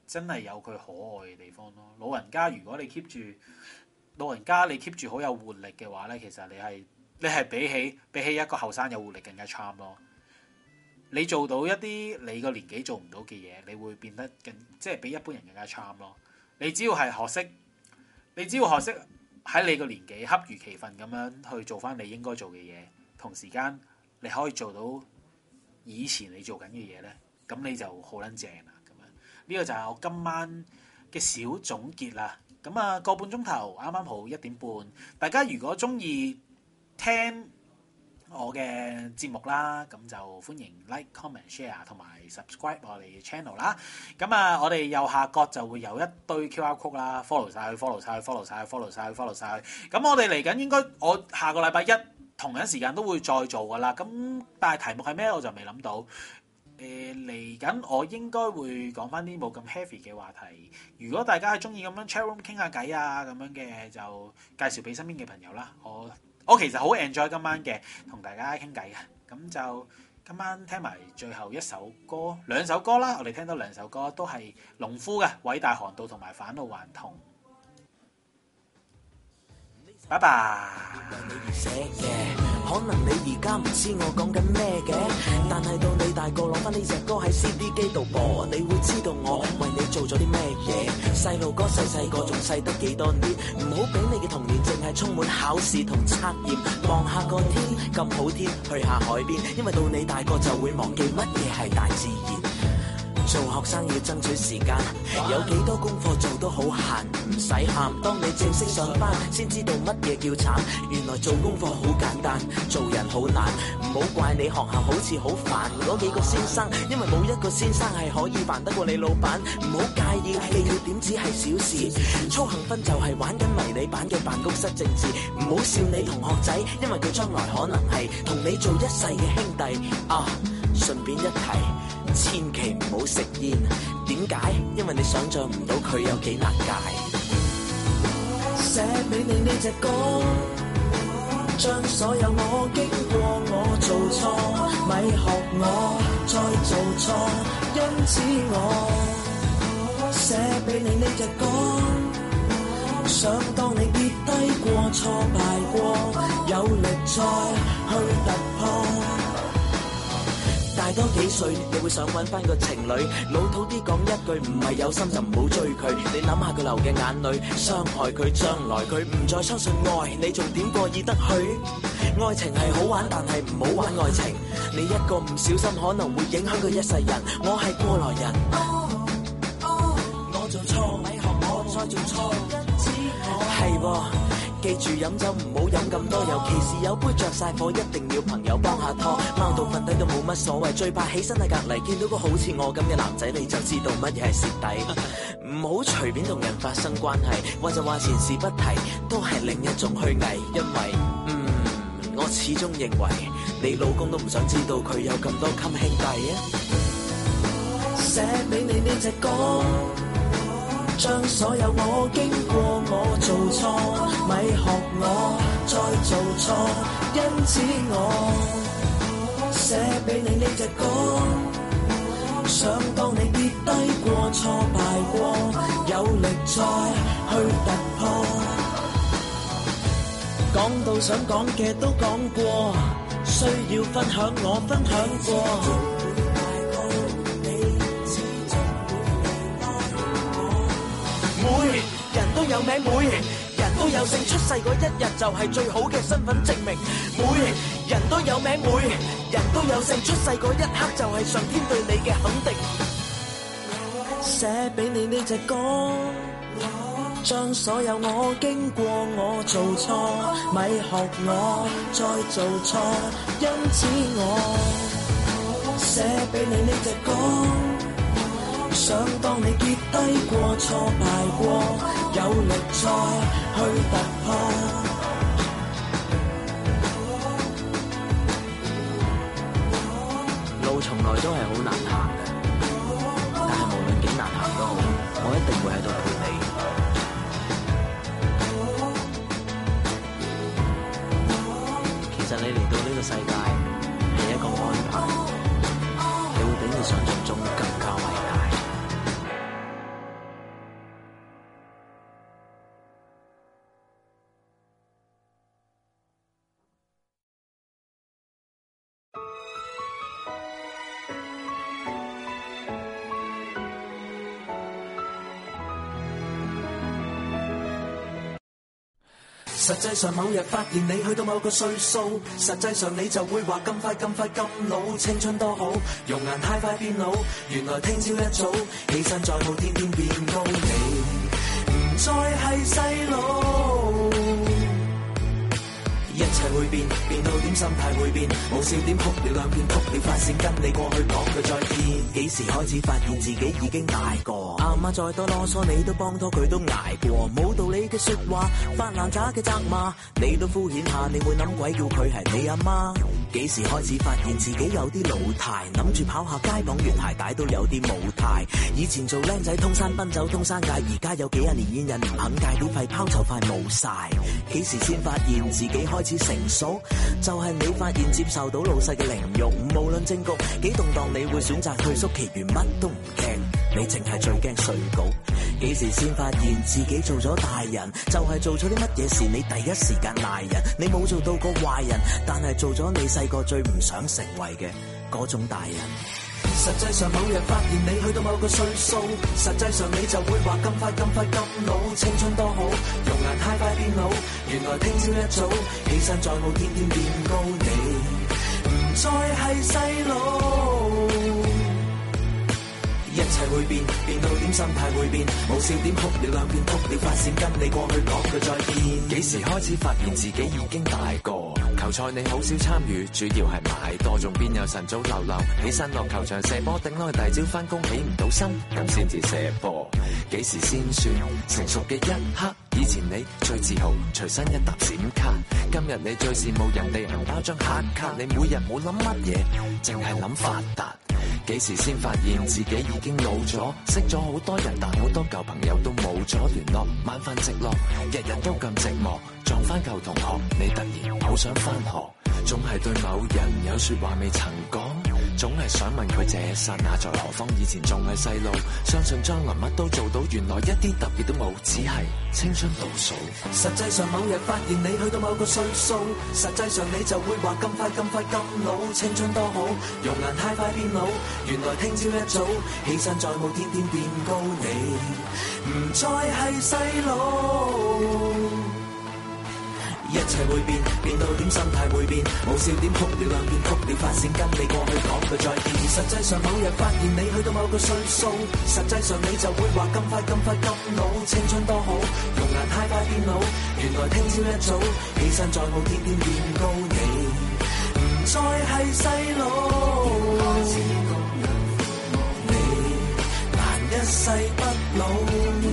真係有佢可愛嘅地方咯。老人家如果你 keep 住老人家你 keep 住好有活力嘅話咧，其實你係你係比起比起一個後生有活力更加 charm 咯。你做到一啲你個年紀做唔到嘅嘢，你會變得更即係比一般人更加 charm 咯。你只要係學識，你只要學識喺你個年紀恰如其分咁樣去做翻你應該做嘅嘢，同時間你可以做到以前你做緊嘅嘢咧，咁你就好撚正啦。咁樣呢個就係我今晚嘅小總結啦。咁啊個半鐘頭啱啱好一點半，大家如果中意聽我嘅節目啦，咁就歡迎 like、comment、share 同埋 subscribe 我哋 channel 啦。咁啊，我哋右下角就會有一堆 Q R code 啦 ，follow 晒佢 ，follow 晒佢 ，follow 晒佢，follow 晒佢，follow 晒佢。咁我哋嚟緊應該我下個禮拜一同一時間都會再做噶啦。咁但係題目係咩我就未諗到。誒嚟緊我應該會講翻啲冇咁 heavy 嘅話題。如果大家係中意咁樣 chat room 傾下偈啊咁樣嘅，就介紹俾身邊嘅朋友啦。我我其實好 enjoy 今晚嘅同大家傾偈嘅，咁就今晚聽埋最後一首歌，兩首歌啦，我哋聽到兩首歌都係農夫嘅《偉大航道》同埋《返老還童》。拜拜。 可能你而家唔知我講緊咩嘅，但係到你大個攞翻呢隻歌喺 C D 機度播，你會知道我為你做咗啲咩嘢。細路哥細細個仲細得幾多年，唔好俾你嘅童年淨係充滿考試同測驗。望下個天咁好天，去下海邊，因為到你大個就會忘記乜嘢係大自然。做學生要爭取時間，有幾多功課做都好閒，唔使喊。當你正式上班，先知道乜嘢叫慘。原來做功課好簡單，做人好難。唔好怪你學校好似好煩嗰幾個先生，因為冇一個先生係可以煩得過你老闆。唔好介意記要點只係小事，操行分就係玩緊迷你版嘅辦公室政治。唔好笑你同學仔，因為佢將來可能係同你做一世嘅兄弟啊！順便一提，千祈唔好食煙。點解？因為你想像唔到佢有幾難戒。寫俾你呢隻歌，將所有我經過我做錯，咪學我再做錯。因此我寫俾你呢隻歌，想當你跌低過、挫敗過，有力再去突破。大多幾歲，你會想揾翻個情侶，老土啲講一句，唔係有心就唔好追佢。你諗下佢流嘅眼淚，傷害佢，將來佢唔再相信愛，你仲點過意得去？愛情係好玩，但係唔好玩愛情。你一個唔小心，可能會影響佢一世人。我係過來人，我做錯，咪學我再做錯。係喎。記住飲酒唔好飲咁多，尤其是有杯着晒火，一定要朋友幫下拖。貓到瞓低都冇乜所謂，最怕起身喺隔離見到個好似我咁嘅男仔，你就知道乜嘢係蝕底。唔好隨便同人發生關係，或者話前事不提，都係另一種虛偽。因為嗯，我始終認為你老公都唔想知道佢有咁多襟兄弟啊。寫俾你呢隻歌，將所有我經過我做錯，咪學我再做錯。因此我寫俾你呢隻歌，想當你跌低過、挫敗過，有力再去突破。講到想講嘅都講過，需要分享我分享過。每人都有名，每人都有姓，出世嗰一日就係最好嘅身份證明。每人都有名，每人都有姓，出世嗰一刻就係上天對你嘅肯定。寫俾你呢隻歌，將所有我經過我做錯，咪學我再做錯。因此我寫俾你呢隻歌，想當你跌低過、挫敗過，有力再去突破。路從來都係好難行嘅，但係無論幾難行都好，我一定會喺度陪你。其實你嚟到呢個世界係一個安排，你會比你想象中更加偉大。 實際上某日發現你去到某個歲數，實際上你就會話咁快咁快咁老，青春多好，容顏太快變老，原來聽朝一早起身再冇天天變高，你唔再係細路。一切會變，變到點心態會變，冇笑點哭了兩片，哭了發線跟你過去講句再見。幾時開始發現自己已經大個？阿媽再多囉嗦，你都幫拖佢都捱過。冇道理嘅説話，發爛渣嘅責罵，你都敷衍下，你會諗鬼叫佢係你阿媽？幾時開始發現自己有啲老態，諗住跑下街綁完鞋帶都有啲冇態。以前做僆仔通山奔走通山界，而家有幾廿年煙癮唔肯戒，啲肺泡就快冇晒。幾時先發現自己開始成熟？就係、是、你發現接受到老細嘅凌辱，無論政局幾動盪，你會選擇退縮，其餘乜都唔驚，你淨係最驚睡稿。幾時先發現自己做咗大人？就係、是、做咗啲乜嘢事，你第一時間賴人。你冇做到個壞人，但係做咗你細個最唔想成為嘅嗰種大人。實際上某日發現你去到某個歲數，實際上你就會話咁快咁快咁老，青春多好，容顏太快變老，原來聽朝一早起身再冇天天變高，你唔再係細路。一切會變，變到點心態會變，冇笑點哭了兩片，哭了發線跟你過去講句再見。 幾時開始發現自己已經大個？球賽你好少參與，主要係買多，仲邊有晨早流流起身落球場射波，頂耐大朝翻工起唔到身，咁先至射波。幾時先算成熟嘅一刻？以前你最自豪隨身一沓閃卡，今日你最羨慕人哋銀包張黑卡，你每日冇諗乜嘢，淨係諗發達。幾時先發現自己已經老咗？識咗好多人，但好多舊朋友都冇咗聯絡，晚飯直落，日日都咁寂寞。撞翻舊同學，你突然好想翻學，總係對某人有說話未曾講，總係想問佢這剎那在何方？以前仲係細路，相信將來乜都做到，原來一啲特別都冇，只係青春倒數。 實際上某日發現你去到某個歲數，實際上你就會話咁快咁快咁老，青春多好，容顏太快變老，原來聽朝一早起身再冇天天變高，你唔再係細路。一切會變，變到點心態會變，冇笑點哭了兩片，哭了發線跟你過去講句再見。實際上某日發現你去到某個歲數，實際上你就會話咁快咁快咁老，青春多好，容顏太快變老，原來聽朝一早起身再冇天天變高，你唔再係細路，你難一世不老。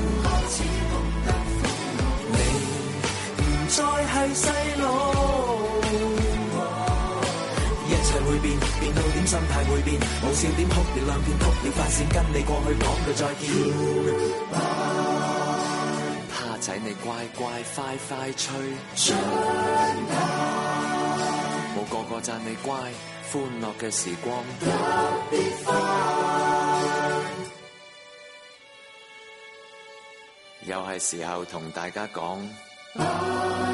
再係細路，一切會變，變到點心態會變，冇笑點哭了兩片，哭了發線跟你過去講句再見。 蝦仔你乖乖快快吹，冇個個讚你乖，歡樂嘅時光特別快。又係時候同大家講。